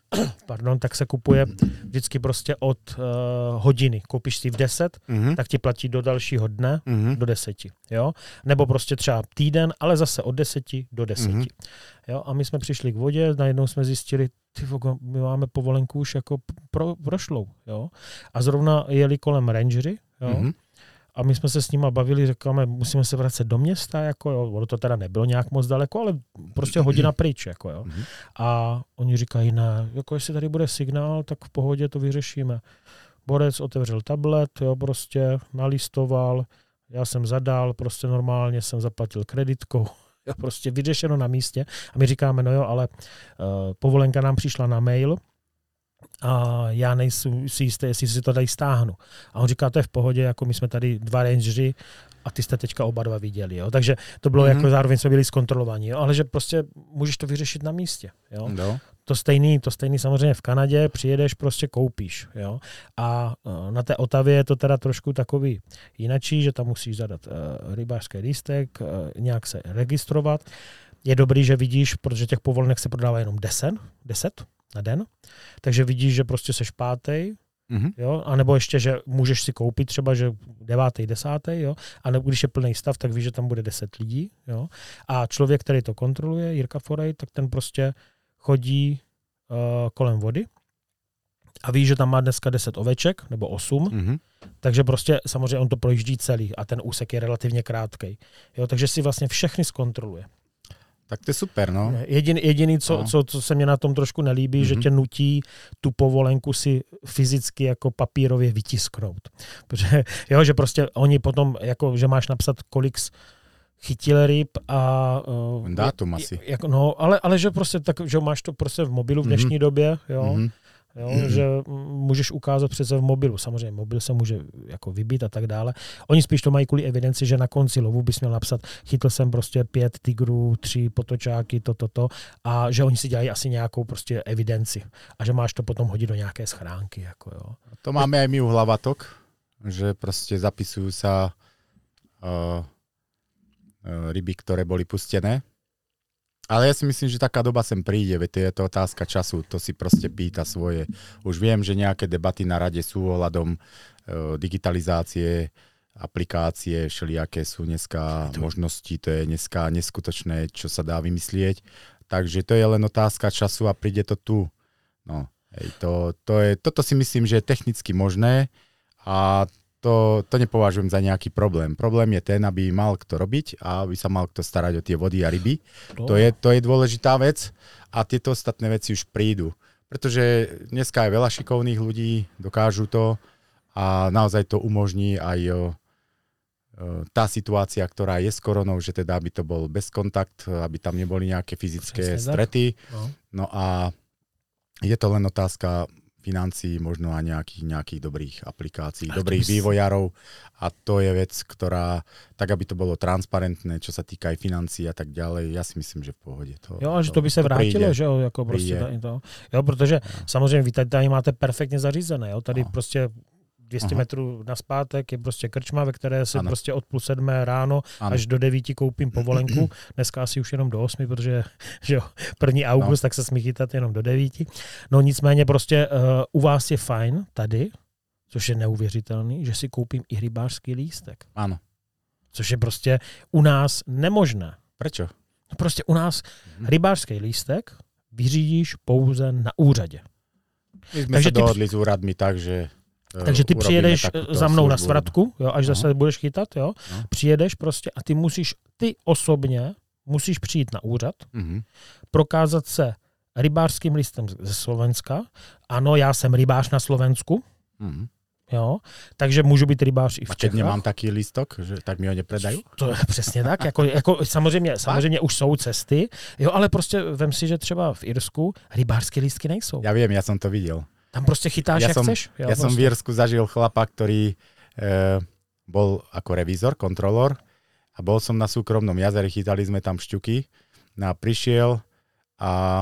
tak se kupuje vždycky prostě od hodiny. Koupíš si v 10, tak ti platí do dalšího dne, do 10. Jo? Nebo prostě třeba týden, ale zase od 10 do 10. Jo? A my jsme přišli k vodě, najednou jsme zjistili, my máme povolenku už jako prošlou. Jo? A zrovna jeli kolem rangery, jo? A my jsme se s nima bavili, říkáme, musíme se vracet do města, jako jo, ono to teda nebylo nějak moc daleko, ale prostě hodina pryč, jako jo. A oni říkají, ne, jako jestli tady bude signál, tak v pohodě to vyřešíme. Borec otevřel tablet, jo, prostě nalistoval, já jsem zadal, prostě normálně jsem zaplatil kreditkou, prostě vyřešeno na místě. A my říkáme, no jo, ale povolenka nám přišla na mail a já nejsem si jistý, jestli si to tady stáhnu. A on říká, to je v pohodě, jako my jsme tady 2 rangeři a ty jste teďka oba 2 viděli. Jo? Takže to bylo jako zároveň jsme byli zkontrolovaní, jo? Ale že prostě můžeš to vyřešit na místě. Jo? No. To stejný samozřejmě v Kanadě, přijedeš, prostě koupíš. Jo? A na té Otavě je to teda trošku takový jinačí, že tam musíš zadat rybářský lístek, nějak se registrovat. Je dobrý, že vidíš, protože těch povolenek se prodává jenom 10 na den, takže vidíš, že prostě seš 5. Jo? A nebo ještě, že můžeš si koupit třeba, že 9., 10. Jo? A nebo když je plný stav, tak víš, že tam bude 10 lidí. Jo? A člověk, který to kontroluje, Jirka Forej, tak ten prostě chodí kolem vody a ví, že tam má dneska 10 oveček, nebo 8, takže prostě samozřejmě on to projíždí celý a ten úsek je relativně krátkej. Jo? Takže si vlastně všechny zkontroluje. Tak to je super, no. Jediný, co se mě na tom trošku nelíbí, že tě nutí tu povolenku si fyzicky jako papírově vytisknout. Protože, jo, že prostě oni potom, jako, že máš napsat, kolik chytil ryb a... dátum asi. Jako, no, ale že prostě tak, že máš to prostě v mobilu v dnešní době, jo. Jo, že můžeš ukázat přece v mobilu. Samozřejmě mobil se může jako vybít a tak dále. Oni spíš to mají kvůli evidenci, že na konci lovu bys měl napsat, chytl jsem prostě 5 tigrů, 3 potočáky, to. A že oni si dělají asi nějakou prostě evidenci. A že máš to potom hodit do nějaké schránky. Jako, jo. To máme aj my u Hlavatok, že prostě zapisujú sa ryby, ktoré boli pustené. Ale ja si myslím, že taká doba sem príde, veď je to otázka času, to si proste pýta svoje. Už viem, že nejaké debaty na rade sú ohľadom digitalizácie, aplikácie, všelijaké sú dneska možnosti, to je dneska neskutočné, čo sa dá vymyslieť. Takže to je len otázka času a príde to tu. No, toto si myslím, že je technicky možné a to nepovažujem za nejaký problém. Problém je ten, aby mal kto robiť a aby sa mal kto starať o tie vody a ryby. To je dôležitá vec a tieto ostatné veci už prídu. Pretože dneska je veľa šikovných ľudí, dokážu to a naozaj to umožní aj tá situácia, ktorá je s koronou, že teda aby to bol bez kontakt, aby tam neboli nejaké fyzické strety. No a je to len otázka financií, možno a nejakých dobrých aplikácií, dobrých vývojárov a to je vec, ktorá, tak aby to bolo transparentné, čo sa týka aj financií a tak ďalej, ja si myslím, že v pohode. Jo, a že to by se vrátilo, že jo, jako prostě to. Jo, protože samozřejmě vy tady máte perfektně zařízené, jo, tady prostě 200 metrů naspátek je prostě krčma, ve které se prostě od 6:30 ráno až do 9 koupím povolenku. Dneska asi už jenom do 8, protože že jo, 1. august, tak se smí chytat jenom do 9. No nicméně prostě u vás je fajn tady, což je neuvěřitelný, že si koupím i rybářský lístek. Ano. Což je prostě u nás nemožné. Prečo? Prostě u nás rybářský lístek vyřídíš pouze na úřadě. My jsme se dohodli s úradmi tak, že takže ty přijedeš za mnou na svratku, jo, až zase budeš chytat, jo, přijedeš prostě a ty osobně musíš přijít na úřad, prokázat se rybářským listem ze Slovenska. Ano, já jsem rybář na Slovensku, jo, takže můžu být rybář i v Čechách. A keď nemám taký listok, že tak mi ho nepredají? To je přesně tak, jako samozřejmě už jsou cesty, jo, ale prostě vem si, že třeba v Irsku rybářské lístky nejsou. Já vím, já jsem to viděl. Tam prostě chytáš, jak chceš. Ja som v Írsku zažil chlapa, ktorý bol ako revízor, kontrolór a bol som na súkromnom jazere, chytali sme tam šťuky a prišiel a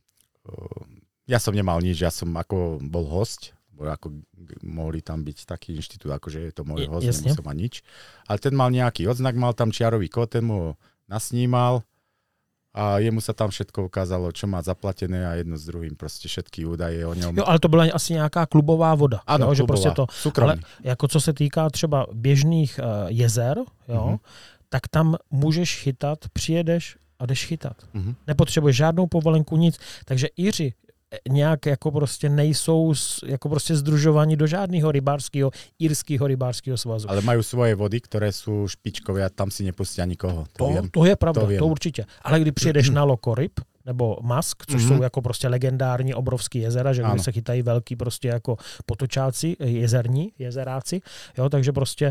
ja som nemal nič, ja som ako bol host, bo ako mohli tam byť taký inštitút, akože je to môj host, nemusel mať nič. Ale ten mal nejaký odznak, mal tam čiarový kód, ten mu ho nasnímal a jemu sa tam všetko ukázalo, čo má zaplatené a jedno s druhým, prostě všetky údaje o něm. Jo, ale to byla asi nějaká klubová voda. Ano, jo, klubová, že prostě to, ale jako co se týká třeba běžných jezer, jo, tak tam můžeš chytat, přijedeš a jdeš chytat. Nepotřebuješ žádnou povolenku, nic. Takže Iři nějak jako prostě nejsou jako prostě združovaní do žádného irského rybářského svazu. Ale mají svoje vody, které jsou špičkové a tam si nepustí nikoho. To je pravda, to určitě. Ale když přijedeš na Lokoryb, nebo Mask, což jsou jako prostě legendární obrovský jezera, že kde se chytají velký prostě jako potočáci, jezeráci, jo, takže prostě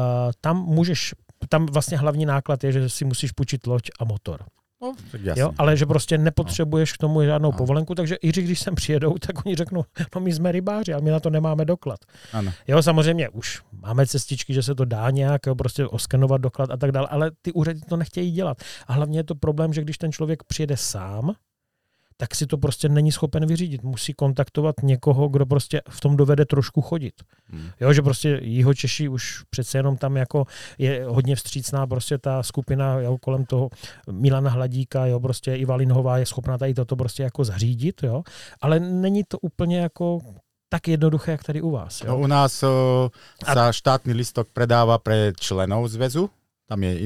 tam vlastně hlavní náklad je, že si musíš půjčit loď a motor. No, tak jasně. Jo, ale že prostě nepotřebuješ k tomu žádnou povolenku, takže i když sem přijedou, tak oni řeknou, no my jsme rybáři, ale my na to nemáme doklad. Ano. Jo, samozřejmě už máme cestičky, že se to dá nějak prostě oskenovat doklad a tak dále, ale ty úřady to nechtějí dělat. A hlavně je to problém, že když ten člověk přijede sám, tak si to prostě není schopen vyřídit. Musí kontaktovat někoho, kdo prostě v tom dovede trošku chodit. Jo, že prostě Jihočeši už přece jenom tam jako je hodně vstřícná prostě ta skupina, jo, kolem toho Milana Hladíka, jo, prostě Iva Linhová je schopná tady toto prostě jako zařídit, jo, ale není to úplně jako tak jednoduché, jak tady u vás. Jo? No, u nás sa štátny listok predáva pre členov zväzu, tam je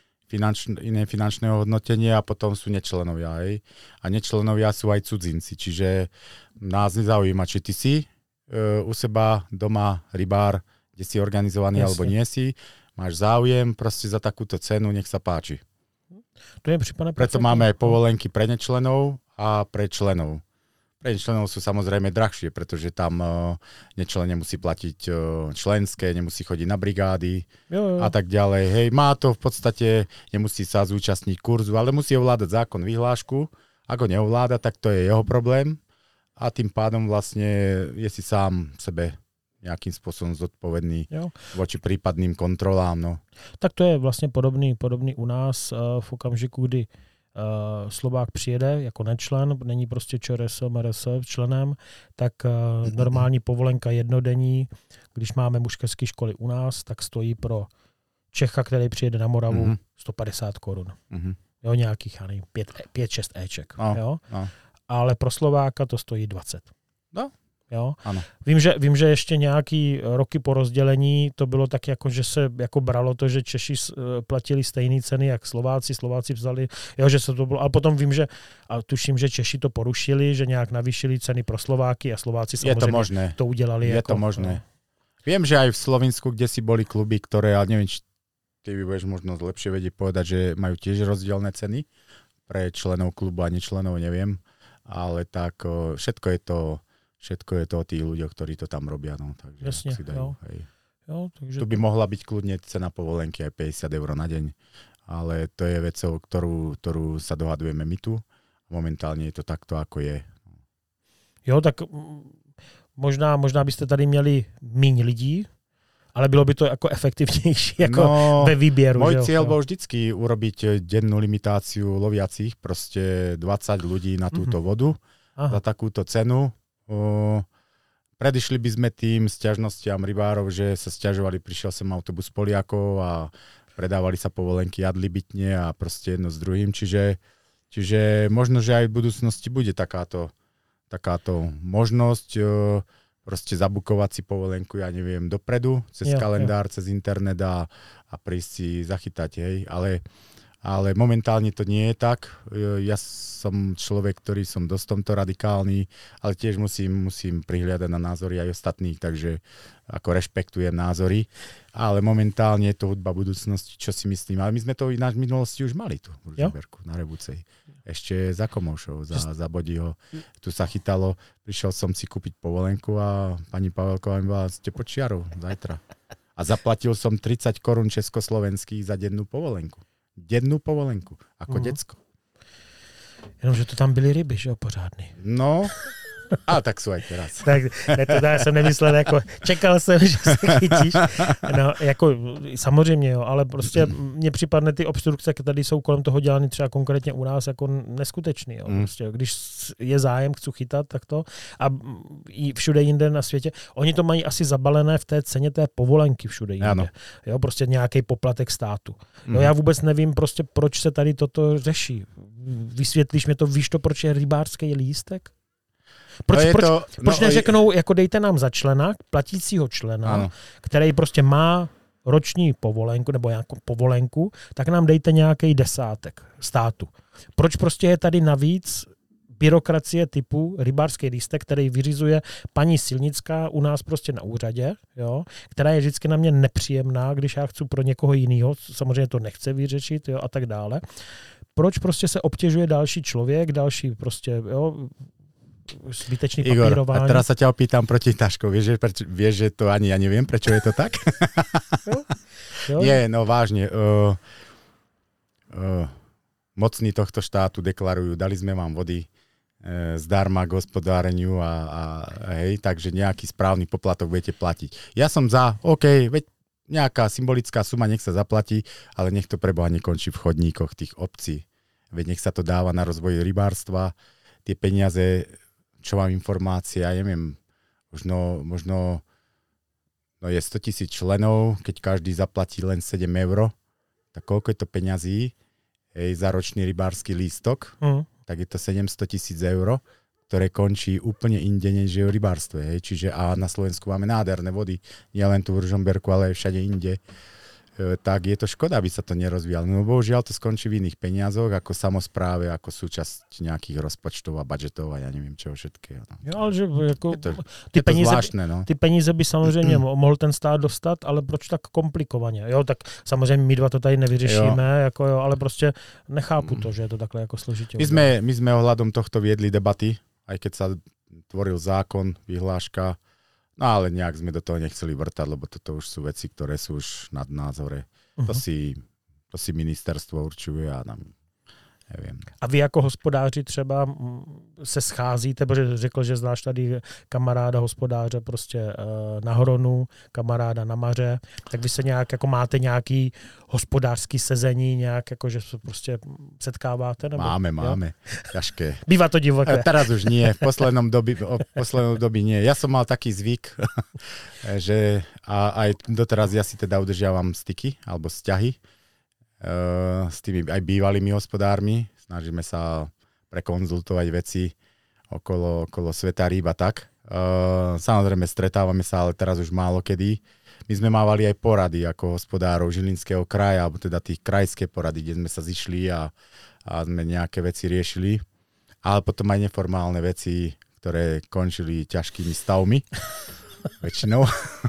iné finančné hodnotenie a potom sú nečlenovia. Hej. A nečlenovia sú aj cudzinci, čiže nás nezaujíma, či ty si u seba doma rybár, kde si organizovaný alebo nie si, máš záujem proste za takúto cenu, nech sa páči. To je prípadne preto máme aj povolenky pre nečlenov a pre členov. Pre členov sú samozrejme drahšie, pretože tam nečlen nemusí platiť členské, nemusí chodiť na brigády a tak ďalej. Hej, má to v podstate, nemusí sa zúčastniť kurzu, ale musí ovládať zákon, vyhlášku. Ak ho neovláda, tak to je jeho problém a tým pádom vlastne je si sám sebe nejakým spôsobom zodpovedný voči prípadným kontrolám. No. Tak to je vlastně podobný u nás v okamžiku, kdy Slovák přijede jako nečlen, není prostě ČRS, MRS členem, tak normální povolenka jednodenní, když máme mužské školy u nás, tak stojí pro Čecha, který přijede na Moravu, 150 korun. Jo, nějakých, já nevím, 5-6 éček. Jo? Ale pro Slováka to stojí 20. No. Jo? Ano. Vím, že ještě nějaký roky po rozdělení to bylo tak, jako, že se jako bralo to, že Češi platili stejné ceny, jak Slováci vzali, jo, že se to bylo, ale potom vím, že a tuším, že Češi to porušili, že nějak navýšili ceny pro Slováky a Slováci samozřejmě to udělali. Je jako, to možné. No. Viem, že aj v Slovensku, kde si boli kluby, ktoré, ale neviem, či ty by budeš možno lepšie vedieť povedať, že majú tiež rozdielne ceny pre členov klubu a nečlenov, neviem, ale tak všetko je to o tých ľuďoch, ktorí to tam robia. No, takže jasne, si dajú, jo, takže tu by mohla byť kľudne cena povolenky aj 50 eur na deň, ale to je vecou, ktorú sa dohadujeme my tu. Momentálne je to takto, ako je. Jo, tak možná byste tady měli míň lidí, ale bylo by to jako efektivnější jako ve výběru. Môj cieľ bol vždycky urobiť dennú limitáciu loviacich, proste 20 ľudí na túto vodu za takúto cenu. Predišli by sme tým sťažnostiam rybárov, že sa sťažovali, prišiel sem autobus Poliakov a predávali sa povolenky adlibitne a proste jedno s druhým. Čiže možno, že aj v budúcnosti bude takáto možnosť proste zabukovať si povolenku, ja neviem, dopredu, cez kalendár, cez internet a prísť si zachytať, hej, ale momentálne to nie je tak. Ja som človek, ktorý som dosť tomto radikálny, ale tiež musím prihliadať na názory aj ostatných, takže ako rešpektujem názory. Ale momentálne je to hudba budúcnosti, čo si myslím. Ale my sme to ináč v minulosti už mali tu v Ružomberku, na Rebucej. Ešte za Komoušov, za Bodího. Tu sa chytalo, prišiel som si kúpiť povolenku a pani Pavelková mi bola, ste pod čiarou zajtra. A zaplatil som 30 korún československých za dennú povolenku. Ako decko. Jenomže to tam byly ryby, že jo, pořádný. No, a tak jsou aj teraz. Tak to já jsem nemyslel, jako čekal jsem, že se chytíš. No, jako samozřejmě, jo, ale prostě mně připadne ty obstrukce, které tady jsou kolem toho dělané třeba konkrétně u nás jako neskutečný. Jo. Prostě, když je zájem, chci chytat, tak to. A i všude jinde na světě. Oni to mají asi zabalené v té ceně té povolenky všude jinde. Ano. Jo, prostě nějaký poplatek státu. No, já vůbec nevím, prostě, proč se tady toto řeší. Vysvětlíš mi to, víš to, proč je rybářský lístek? Proč neřeknou, jako dejte nám za člena, platícího člena, který prostě má roční povolenku nebo nějakou povolenku, tak nám dejte nějaký desátek státu. Proč prostě je tady navíc byrokracie typu rybářský lístek, který vyřizuje paní Silnická u nás prostě na úřadě, jo, která je vždycky na mě nepříjemná, když já chci pro někoho jiného, samozřejmě to nechce vyřešit, jo, a tak dále. proč prostě se obtěžuje další člověk, další prostě, jo, zbytečný papírování. Igor, a teraz sa ťa opýtam proti Taško. Vieš, že to ani ja neviem, prečo je to tak? Jo? Nie, no vážne. Mocní tohto štátu deklarujú, dali sme vám vody zdarma k hospodáreniu a hej, takže nejaký správny poplatok budete platiť. Ja som za, OK, veď nejaká symbolická suma, nech sa zaplatí, ale nech to preboha nekončí v chodníkoch tých obcí. Veď nech sa to dáva na rozvoj rybárstva, tie peniaze, čo mám informácie, ja neviem, možno je 100 000 členov, keď každý zaplatí len 7 €, tak koľko je to peňazí za ročný rybársky lístok, tak je to 700 000 €, ktoré končí úplne inde, než je v rybárstve. Čiže a na Slovensku máme nádherné vody, nie len tu v Ružomberku, ale aj všade inde. Tak je to škoda, aby sa to nerozvíjalo. No bohužiaľ to skončí v iných peniazoch, ako samospráve, ako súčasť nejakých rozpočtov a budžetov a ja neviem čeho všetkého. No. Jo, ale že jako, je to zvláštne, no. Ty peníze by samozřejmě mohl ten stát dostat, ale proč tak komplikovaně? Jo, tak samozřejmě my dva to tady nevyřešíme, jako, jo, ale prostě nechápu to, že je to takhle jako složitě. My sme ohľadom tohto viedli debaty, aj keď sa tvoril zákon, vyhláška, no ale nejak sme do toho nechceli vrtať, lebo toto už sú veci, ktoré sú už nad názore. To si ministerstvo určuje a nám nevím. A vy jako hospodáři třeba se scházíte, protože řekl, že znáš tady kamaráda hospodáře prostě na Horonu, kamaráda na Maře, tak vy se nějak, jako máte nějaký hospodářský sezení, nějak jako, že se prostě setkáváte? Nebo, Máme, ťažké. Bývá to divoké. Teraz už nie, v poslednom dobi nie. Ja som mal taký zvyk, že aj doteraz ja si teda udržiavam styky, alebo vzťahy s tými aj bývalými hospodármi. Snažíme sa prekonzultovať veci okolo sveta rýb a tak. Samozrejme stretávame sa, ale teraz už málo kedy. My sme mávali aj porady ako hospodárov Žilinského kraja, alebo teda tých krajské porady, kde sme sa zišli a sme nejaké veci riešili. Ale potom aj neformálne veci, ktoré končili ťažkými stavmi. Väčšinou.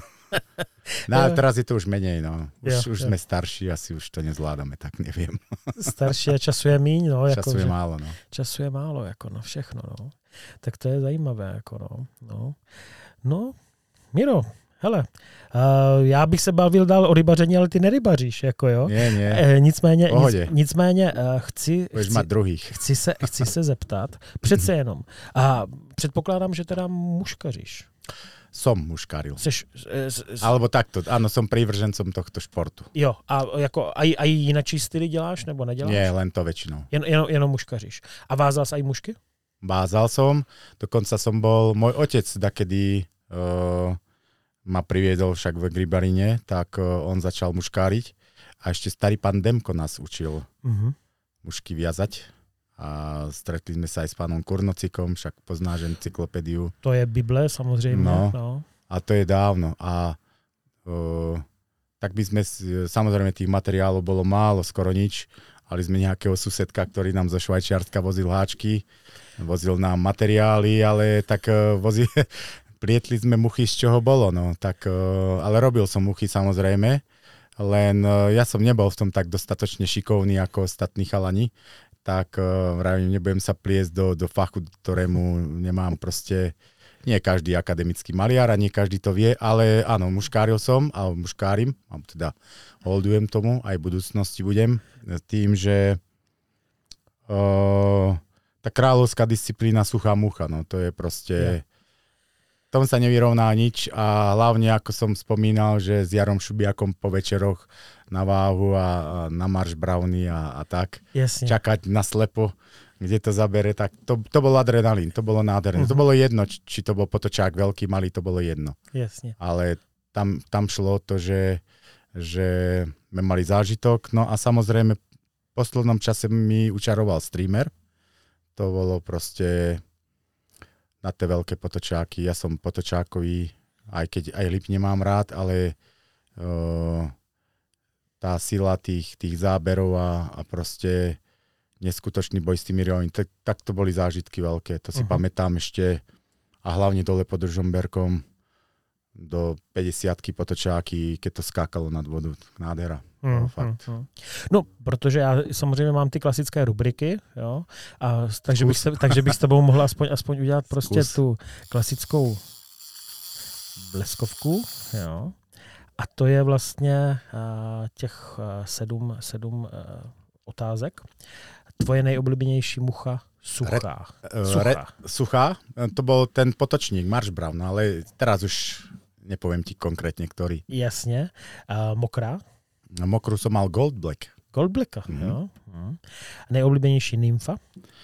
No ale teraz je to už menej, no. Už sme starší, asi už to nezvládame, tak neviem. Starší a času je míň, no. Času je málo, no. Času je málo, jako no, všechno, no. Tak to je zajímavé, jako no. No, Miro, hele, já bych se bavil dál o rybaření, ale ty nerybaříš, jako jo. Nie. Nicméně chci se zeptat, přece jenom. A předpokládám, že teda muškaříš. Som muškáril. Alebo takto, áno, som prívržencom tohto športu. Jo, a jako aj jinačí styly děláš, nebo neděláš? Nie, len to väčšinou. Jenom muškaříš. A vázal sa aj mušky? Vázal som, dokonca som bol, môj otec dakedy ma priviedol však v Gribarine, tak on začal muškáriť a ešte starý pán Demko nás učil mušky viazať. A stretli sme sa aj s pánom Kurnocikom, však poznáš encyklopédiu. To je Bible, samozrejme. No. A to je dávno. A tak by sme, samozrejme tých materiálov bolo málo, skoro nič. Mali sme nejakého susedka, ktorý nám zo Švajčiarska vozil háčky, vozil nám materiály, ale tak plietli sme muchy, z čoho bolo. No. Tak, ale robil som muchy samozrejme, len ja som nebol v tom tak dostatočne šikovný ako ostatní chalani. Tak vravím, nebudem sa pliesť do fachu, ktorému nemám proste, nie každý akademický maliar a nie každý to vie, ale áno, muškáril som, alebo muškárim, teda holdujem tomu, aj v budúcnosti budem, tým, že tá kráľovská disciplína suchá mucha, no to je proste, tom sa nevyrovná nič a hlavne, ako som spomínal, že s Jarom Šubiakom po večeroch na váhu a na marš browny a tak. Jasne. Čakať na slepo, kde to zabere, tak to bol adrenalín, to bolo nádherné. To bolo jedno, či to bol potočák veľký, malý, to bolo jedno. Jasne. Ale tam šlo o to, že sme mali zážitok, no a samozrejme v poslednom čase mi učaroval streamer. To bolo proste na tie veľké potočáky. Ja som potočákový, aj keď aj lip nemám rád, ale tá sila tých záberov a proste neskutočný boj s tými rybami, tak to boli zážitky veľké. To si pamätám ešte a hlavne dole pod Ružomberkom do 50-ky potočáky, keď to skákalo nad vodu. Nádhera. Fakt. No, protože já samozřejmě mám ty klasické rubriky, jo, takže bych s tebou mohl aspoň udělat prostě tu klasickou bleskovku, jo. A to je vlastně těch 7 otázek. Tvoje nejoblíbenější mucha suchá. Suchá? To bol ten potočník, Marsh Brown, ale teraz už nepoviem ti konkrétne, ktorý. Jasne. Mokrá? Mokrú som mal Gold Black. Gold Blacka, jo. Nejoblíbenější nymfa?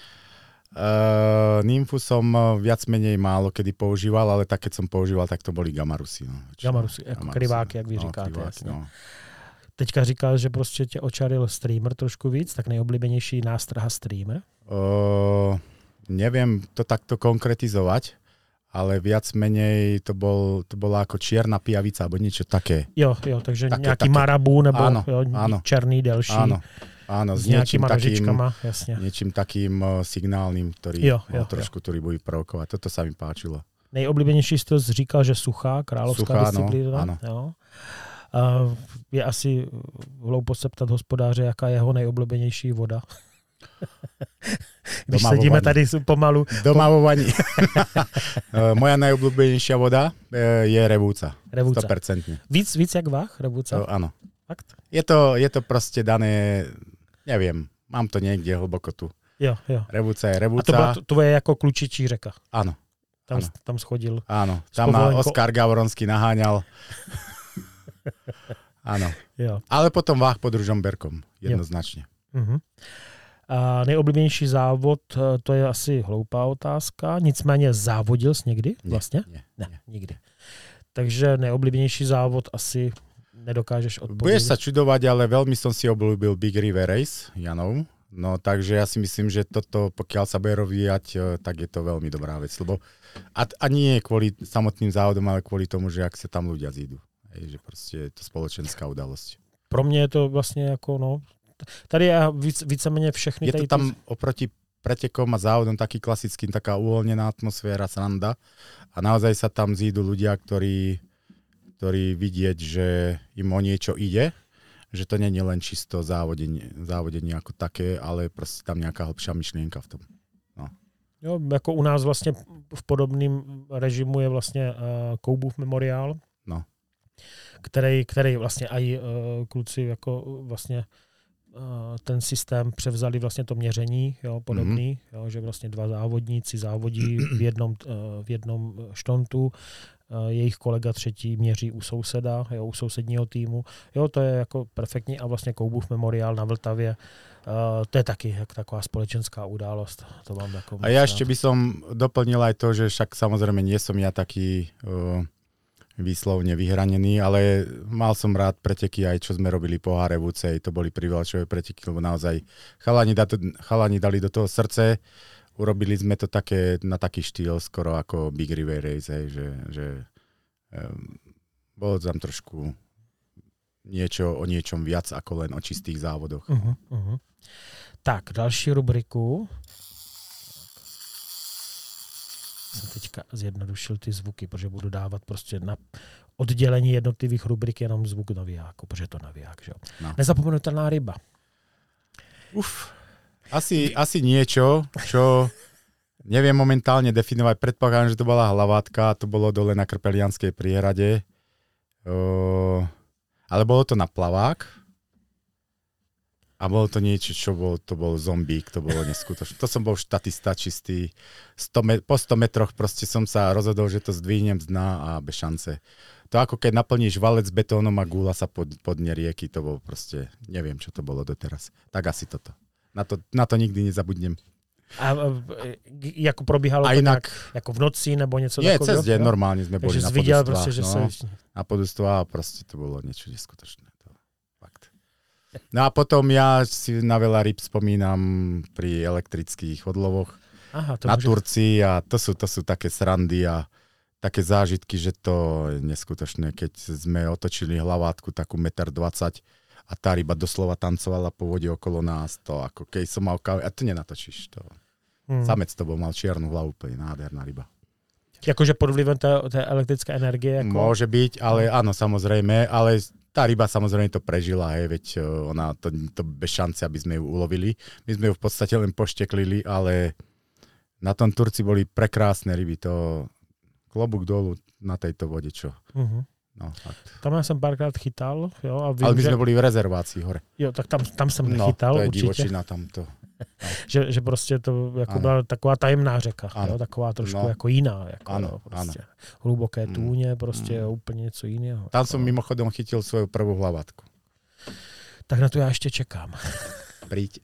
Nymfu som viac menej málo kedy používal, ale tak, keď som používal, tak to boli gamarusy. No. Gamarusy, jako kryváky, jak vy říkáte. Kryváky, no. Teďka říkal, že prostě tě očaril streamer trošku víc, tak nejoblíbenější nástraha streamer? Neviem to takto konkretizovať, ale viac menej to bola ako čierna pijavica, alebo niečo také. Jo, takže nejaký marabu, nebo áno, černý, delší. Áno, s niečím takým signálnym, ktorý ktorý bude provokovať. Toto sa mi páčilo. Nejoblíbenější jsi to říkal, že suchá, královská disciplína. Ano. Jo. Je asi hloupost se ptat hospodáře, jaká je jeho nejoblíbenější voda. Když sedíme tady pomalu. Doma vo vani. Moja najobľúbenejšia voda je revúca. 100%. Víc jak váh, revúca? Áno. Fakt? Je to proste dané, neviem, mám to niekde hlboko tu. Jo. Revúca je revúca. A to je jako klučičí řeka. Áno. Tam schodil. Áno, tam ma Oskar Gavronský naháňal. Áno. Jo. Ale potom váh pod Ružomberkom, jednoznačne. A nejoblíbenější závod, to je asi hloupá otázka, nicméně závodil jsi někdy vlastně? Ne, nikdy. Takže nejoblíbenější závod asi nedokážeš odpovědět. Budeš sa čudovať, ale veľmi som si obľúbil Big River Race, Janov. No takže ja si myslím, že toto, pokiaľ sa bude rozvíjať, tak je to veľmi dobrá vec. Lebo a nie kvôli samotným závodom, ale kvôli tomu, že ak sa tam ľudia zídu. Že proste je to spoločenská udalosť. Pro mě je to vlastně jako, tady je víceméně všechny. Je to tam oproti pretekom a závodom taký klasický, taká uvoľnená atmosféra, sranda. A naozaj sa tam zídu ľudia, ktorí vidieť, že im o niečo ide, že to nie je len čisto závodenie ako také, ale proste tam nejaká hlbšia myšlienka v tom. No. Jo, jako u nás vlastně v podobném režimu je vlastně Koubův memoriál, který vlastně aj kluci jako vlastně ten systém převzali vlastně to měření, jo, podobný, jo, že vlastně dva závodníci závodí v jednom štontu, jejich kolega třetí měří u souseda, jo, u sousedního týmu. Jo, to je jako perfektní a vlastně Koubův memoriál na Vltavě, to je taky jak taková společenská událost. To mám jako a ja ešte by som doplnil aj to, že však samozrejme nie som ja taký výslovne vyhranený, ale mal som rád preteky aj čo sme robili po Harevúcej, to boli privlačové preteky, lebo naozaj chalani dali do toho srdce, urobili sme to také, na taký štýl skoro ako Big River Race, že bolo tam trošku o niečom viac ako len o čistých závodoch. Tak, další rubriku. Jsem teďka zjednodušil ty zvuky, protože budu dávat prostě na oddělení jednotlivých rubrik jenom zvuk navijáku, protože to naviják, že jo. No. Nezapomenutelná ryba. Asi niečo, čo neviem momentálne definovať. Predpokladám, že to bola hlavátka, to bolo dole na Krpelianskej priehrade. Ale bolo to na plavák. A bolo to niečo, to bol zombík, to bolo neskutočné. To som bol štatista čistý. Po 100 metroch proste som sa rozhodol, že to zdvihnem z dna a bez šance. To ako keď naplníš valec betónom a gúla sa pod dne rieky, to bolo proste, neviem, čo to bolo doteraz. Tak asi toto. Na to nikdy nezabudnem. A jako probíhalo to inak, jako v noci nebo něco takového? Nie, cez deň normálne sme boli na podustvách. Proste, že na podustvách a proste to bolo niečo neskutočné. No a potom ja si na veľa ryb spomínam pri elektrických odlovoch na Turcii a to sú také srandy a také zážitky, že to je neskutočné, keď sme otočili hlavátku takú 1,20 m a tá ryba doslova tancovala po vode okolo nás, to ako keď som mal a to nenatočíš. To. Samec to bol, mal čiernu hlavu, úplne nádherná ryba. Jakože pod vlivem té elektrické energie? Jako... Môže byť, ale áno, samozrejme, ale tá ryba samozrejme to prežila, veď ona to bez šance, aby sme ju ulovili. My sme ju v podstate len pošteklili, ale na tom Turci boli prekrásne ryby. To klobúk dolu na tejto vode, čo. No, fakt. Tam ja som párkrát chytal. Jo, a vím, ale my sme boli v rezervácii hore. Jo, tak tam jsem nechytal to je určitě. Divočina tamto. No. Že prostě to jako byla taková tajemná řeka, jo, taková trošku jako jiná. Jako, ano, prostě. Hluboké tůně, prostě úplně něco jiného. Tam som mimochodom chytil svoju prvú hlavatku. Tak na to já ještě čekám. Príď.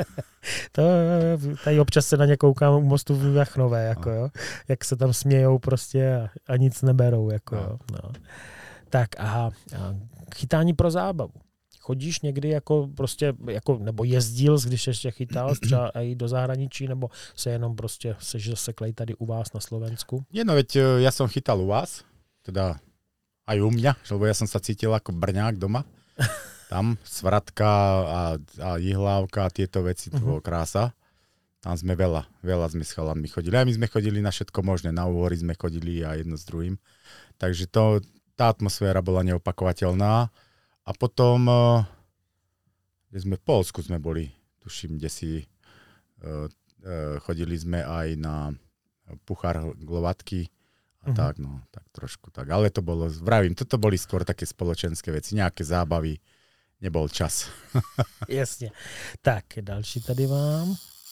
Tady občas se na ně koukám u mostu v Jachnové, jako, jo, jak se tam smějou prostě a nic neberou. Jako, jo, no. Tak a chytání pro zábavu. Chodíš někdy jako prostě, jako, nebo jezdil, když ještě chytal třeba i do zahraničí, nebo se jenom prostě seš zaseklej tady u vás na Slovensku? Nie, no veď ja som chytal u vás, teda aj u mňa, lebo ja som sa cítil ako Brňák doma. Tam svratka a jihlávka a tieto veci, to bolo krása. Tam sme veľa sme s chalanmi chodili. A my sme chodili na všetko možné, na úhory sme chodili a jedno s druhým. Takže tá atmosféra bola neopakovateľná. A potom, kde sme v Poľsku sme boli, tuším, kde si chodili sme aj na Puchár Glovatky a tak, no, tak trošku tak. Ale to bolo, vravím, toto boli skôr také spoločenské veci, nejaké zábavy, nebol čas. Jasně. Tak, další tady mám.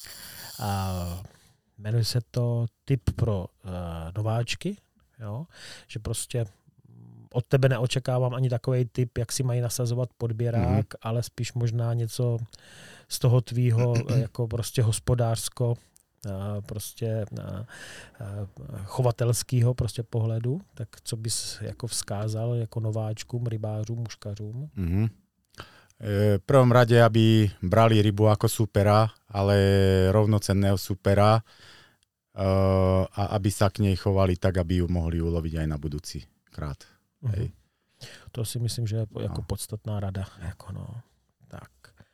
Jmenuje se to tip pro nováčky, jo? Že prostě od tebe neočekávám ani takovej tip, jak si mají nasazovat podběrák, ale spíš možná něco z toho tvýho jako prostě hospodářsko, prostě chovatelského prostě pohledu. Tak co bys jako vzkázal jako nováčkům, rybářům, muškařům? V prvom rade, aby brali rybu ako supera, ale rovnocenného supera a aby sa k nej chovali tak, aby ju mohli uloviť aj na budúci krát. Hej. To si myslím, že je jako podstatná rada. Jako no. Tak.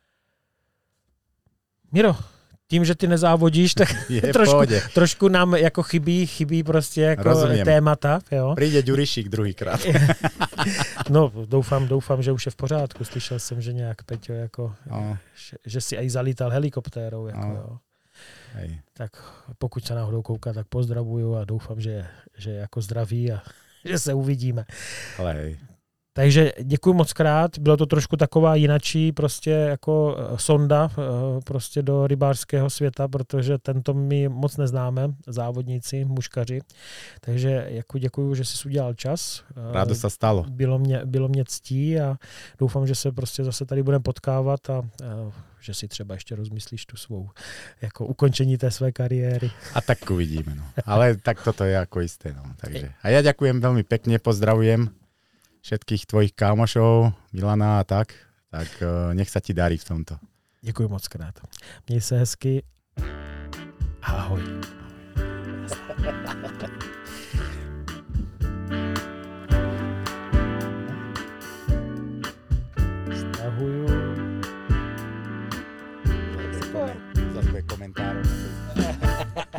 Miro, tím, že ty nezávodíš, tak trošku nám jako chybí prostě jako témata. Jo? Přijde Ďurišík druhýkrát. No, doufám, že už je v pořádku. Slyšel jsem, že nějak Peťo, jako, že si aj zalítal helikoptérou. Jako, jo. Hej. Tak pokud se náhodou kouká, tak pozdravuju a doufám, že je jako zdraví a že se uvidíme. Ale hej. Takže děkuji moc krát. Bylo to trošku taková jinačí prostě jako sonda prostě do rybářského světa, protože tento my moc neznáme, závodníci, muškaři. Takže jako děkuji, že jsi udělal čas. Rádo se stalo. Bylo mě ctí a doufám, že se prostě zase tady budeme potkávat a že si třeba ještě rozmyslíš tu svou jako ukončení té své kariéry. A tak uvidíme. No. Ale tak toto je jako jisté. No. Takže. A ja ďakujem veľmi pekne, pozdravujem všetkých tvojich kámošov, Milana a tak nech sa ti darí v tomto. Děkuji moc krát. Měj se hezky. Ahoj. Stahuju. Zase komentář.